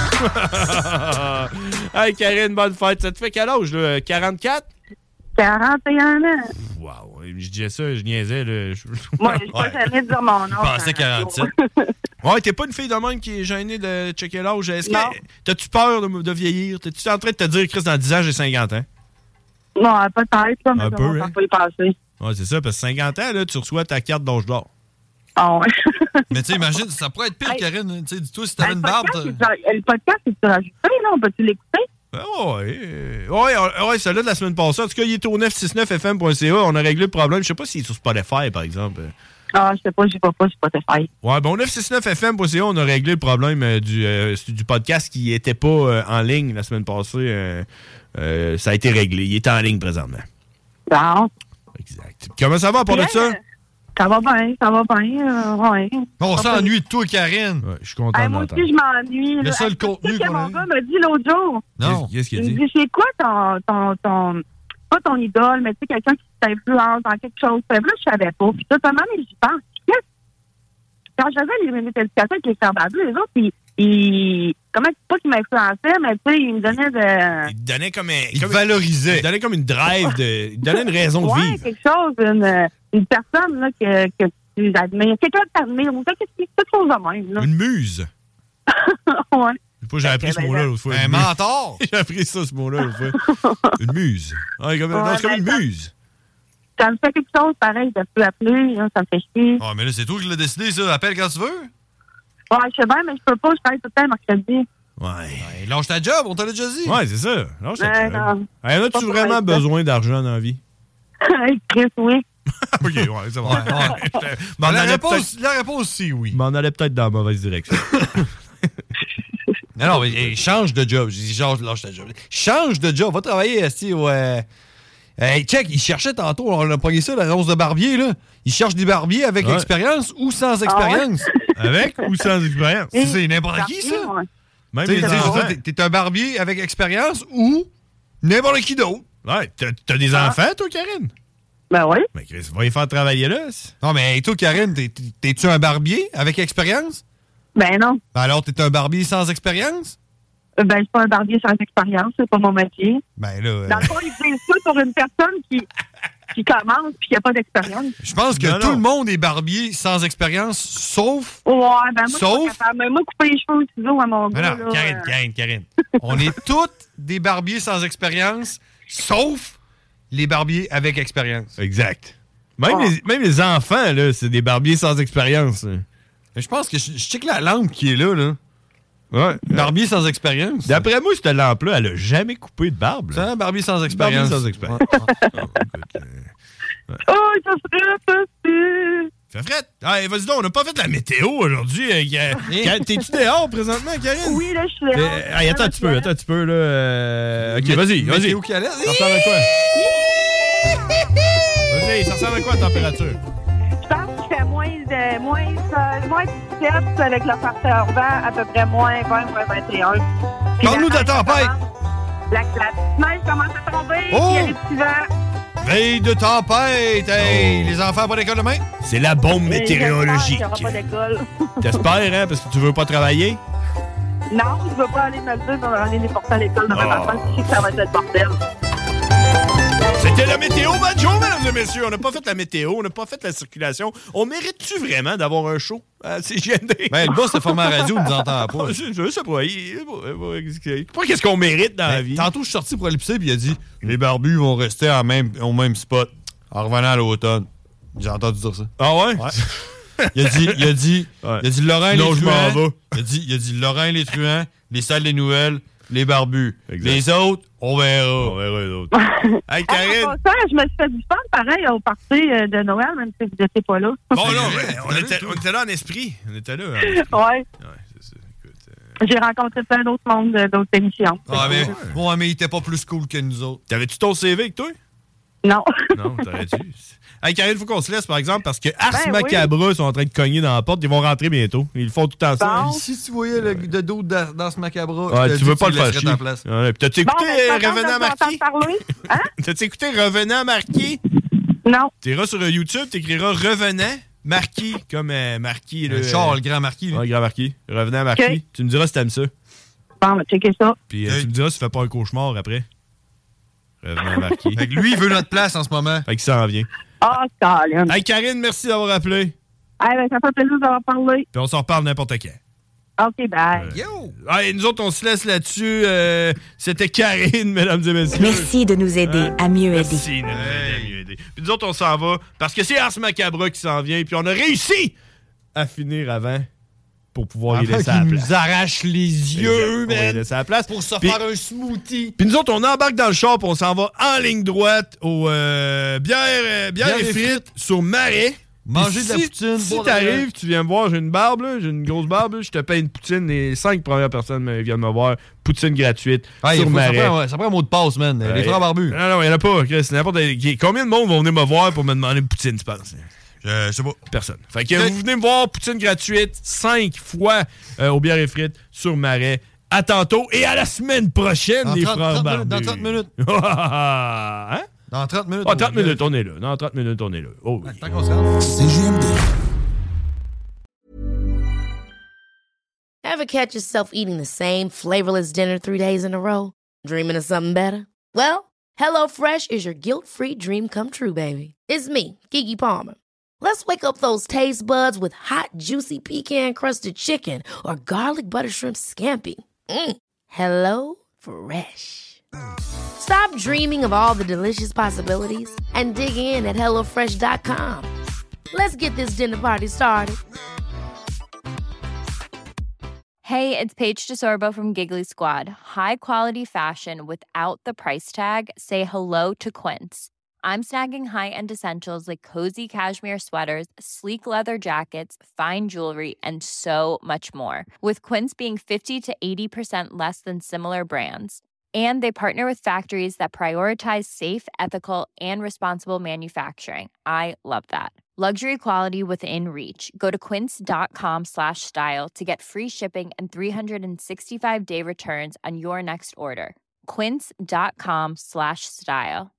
Hey Karine, bonne fête! Ça te fait quel âge, là? 44? 41 ans. Wow! Je disais ça, je niaisais, là. Moi, je pas jamais dire mon nom. Je pensais 47. Ouais, t'es pas une fille de même qui est gênée de checker l'âge. Est-ce que t'as-tu peur de vieillir? T'es-tu en train de te dire, Chris, dans 10 ans, j'ai 50 ans? Non, peut-être, là, mais un peu, ça va pas y passer. Ouais, c'est ça, parce que 50 ans, là, tu reçois ta carte d'âge d'or. Ah ouais. Mais tu sais, imagine, ça pourrait être pire, Karine. Tu sais, dis-toi, si t'avais une barbe... Le podcast, c'est-tu rajouté, là? On peut-tu l'écouter? Ouais, celui-là de la semaine passée. En tout cas, il est au 969fm.ca. On a réglé le problème. Je sais pas s'il est sur Spotify, par exemple. Ah, je sais pas, j'y vais pas sur Spotify. Ouais, bon, 969fm.ca, on a réglé le problème du podcast qui était pas en ligne la semaine passée. Ça a été réglé. Il est en ligne présentement. Bon. Exact. Comment ça va, à part de ça? Ça va bien, ouais. On s'ennuie de toi, Karine. Ouais, je suis content de moi l'entendre. aussi, je m'ennuie. Le seul contenu qu'on a. Mon gars m'a dit l'autre jour. Non. Qu'est-ce qu'il a dit? Il me dit, c'est quoi pas ton idole, mais tu sais, quelqu'un qui t'influence dans quelque chose. Puis là, je savais pas. Puis totalement, mais j'y pense. Quand je faisais les minutes d'éducation avec les frères barbus, les autres, ils comment pas qu'ils m'influençaient, mais tu sais, ils me donnaient de... Il te donnait comme un... Il te valorisait. Il te donnait comme une drive, il te donnait une raison de vivre. Ouais, quelque chose, une personne là, que tu admires. Quelqu'un que tu admires, ou quelque chose de même. Là. Une muse. Ouais. J'ai appris ce mot-là l'autre fois. Un mentor. J'ai appris ce mot-là l'autre fois. Une muse. Ouais, c'est comme une muse. Ça me fait quelque chose pareil de plus appeler, là, ça me fait chier. Ah, mais là, c'est toi qui l'as décidé, ça. Appelle quand tu veux. Ouais, je sais bien, mais je peux pas, je travaille tout le temps mercredi. Ouais. Lâche ta job, on t'a déjà dit. Ouais, c'est ça. Lâche ta job. Non. Hey, as-tu vraiment besoin d'argent dans la vie? Chris, oui. OK, ouais, c'est bon. La réponse, c'est oui. Mais on allait peut-être dans la mauvaise direction. Non, mais change de job. Je dis, lâche ta job. Change de job. Va travailler au... Hey, check, il cherchait tantôt, on a pogné ça, la rose de barbier, là. Il cherche des barbiers avec expérience ou sans expérience. Ah ouais? Avec ou sans expérience? C'est n'importe qui, ça. Ouais. Même les enfants. T'es un barbier avec expérience ou n'importe qui d'autre. Ouais, t'as des enfants, toi, Karine? Ben oui. Mais Chris, va y faire travailler là. Non, mais toi, Karine, t'es-tu un barbier avec expérience? Ben non. Ben alors, t'es un barbier sans expérience? Ben, je suis pas un barbier sans expérience, c'est pas mon métier. Ben là... Dans le fond, ils disent ça pour une personne qui commence puis qui n'a pas d'expérience. Je pense que tout le monde est barbier sans expérience, sauf... Ouais, ben moi, je suis pas capable. Mais moi, couper les cheveux au ciseau à mon gars, non, Karine. On est tous des barbiers sans expérience, sauf les barbiers avec expérience. Exact. Même les enfants, là, c'est des barbiers sans expérience. Je pense que je check la lampe qui est là. Ouais. Barbier sans expérience. D'après moi, cette lampe-là, elle a jamais coupé de barbe. C'est un barbier sans expérience. Barbier sans expérience. Oh, ça serait facile. Ça ferait. Hey, vas-y donc, on n'a pas fait la météo aujourd'hui. T'es-tu dehors présentement, Karine? Oui, là, je suis dehors. Hey, attends un petit peu, là. OK, vas-y. Météo qui allait? Ça ressemble à quoi? Vas-y, ça ressemble à quoi la température? Je pense qu'il fait moins 17 avec le facteur vent, à peu près moins 20, moins 21. Parle-nous de la tempête. La neige commence à tomber, il y a des petits vents. Veille de tempête! Hey, les enfants pas d'école demain? C'est la bombe météorologique. Il n'y aura pas d'école. T'espères, hein, parce que tu veux pas travailler? Non, je veux pas aller me le dire pour aller les porter à l'école demain matin. Je sais que ça va être le bordel. C'était la météo, Banjo, mesdames et messieurs. On n'a pas fait la météo, on n'a pas fait la circulation. On mérite-tu vraiment d'avoir un show? C'est gêné. Ben, le boss de format radio ne nous entend pas. Je sais pas. Qu'est-ce qu'on mérite dans la vie? Tantôt, je suis sorti pour aller pisser, puis il a dit les barbus vont rester au même spot en revenant à l'automne. J'ai entendu dire ça. Ah ouais? Il a dit Laurent les truands. Il a dit Laurent les truands, les salles des nouvelles, les barbus. Exact. Les autres, on verra. On verra les autres. Hey, Karine! En passant, je me suis fait du fun, pareil, au party de Noël, même si vous n'étiez pas là. Bon, non, on était là en esprit. On était là. Ouais. Ouais, c'est ça. Écoute, J'ai rencontré plein d'autres mondes d'autres émissions. Mais il était pas plus cool que nous autres. T'avais-tu ton CV avec toi? Non. Non, t'aurais dû. Hey, Karine, il faut qu'on se laisse, par exemple, parce que Ars Macabra sont en train de cogner dans la porte. Ils vont rentrer bientôt. Ils le font tout le temps ça. Si tu voyais le dos d'Ars Macabra, tu veux pas le faire chier. Ouais, t'as-tu écouté Revenant Marquis? Hein? T'as-tu écouté Revenant Marquis? Non. T'iras sur YouTube, t'écriras Revenant Marquis, comme Marquis. Le grand Marquis. Ouais, grand Marquis. Revenant Marquis. Okay. Tu me diras si t'aimes ça. Bon, ben, checker ça. Puis tu me diras si tu fais pas un cauchemar après. Revenant Marquis. Fait que lui, il veut notre place en ce moment. Fait qu'il s'en vient. Ah, Colin. Hey, Karine, merci d'avoir appelé. Ça fait plaisir d'avoir parlé. Puis on s'en reparle n'importe quand. OK, bye. Yo! Hey, nous autres, on se laisse là-dessus. C'était Karine, mesdames et messieurs. Merci de nous aider à mieux aider. Merci de nous aider à mieux aider. Puis nous autres, on s'en va parce que c'est Ars Macabra qui s'en vient. Puis on a réussi à finir avant pour pouvoir y laisser la place. nous arrache les yeux, man. On va y laisser la place. Pour se faire un smoothie. Puis nous autres, on embarque dans le char puis on s'en va en ligne droite au bière et frites sur Marais. Manger de la poutine. Si t'arrives, tu viens me voir, j'ai une barbe, là, j'ai une grosse barbe, là, je te paye une poutine. Les 5 premières personnes viennent me voir. Poutine gratuite sur Marais. Ça prend un mot de passe, man. Les frères barbus. Non, il n'y en a pas. C'est n'importe qui. Combien de monde vont venir me voir pour me demander une poutine, tu penses? Je sais pas. Personne. Fait que vous venez me voir, poutine gratuite, 5 fois au bière et frites sur Marais. À tantôt et à la semaine prochaine, les frères barbus. Dans 30 minutes. Hein? Dans 30 minutes. Ah, 30 minutes, on est là. Dans 30 minutes, on est là. Oh, oui. Tant qu'on se rend. CJMD. Ever catch yourself eating the same flavorless dinner 3 days in a row? Dreaming of something better? Well, HelloFresh is your guilt-free dream come true, baby. It's me, Keke Palmer. Let's wake up those taste buds with hot, juicy pecan-crusted chicken or garlic butter shrimp scampi. Hello Fresh. Stop dreaming of all the delicious possibilities and dig in at HelloFresh.com. Let's get this dinner party started. Hey, it's Paige DeSorbo from Giggly Squad. High quality fashion without the price tag. Say hello to Quince. I'm snagging high-end essentials like cozy cashmere sweaters, sleek leather jackets, fine jewelry, and so much more. With Quince being 50 to 80% less than similar brands. And they partner with factories that prioritize safe, ethical, and responsible manufacturing. I love that. Luxury quality within reach. Go to quince.com/style to get free shipping and 365-day returns on your next order. Quince.com/style.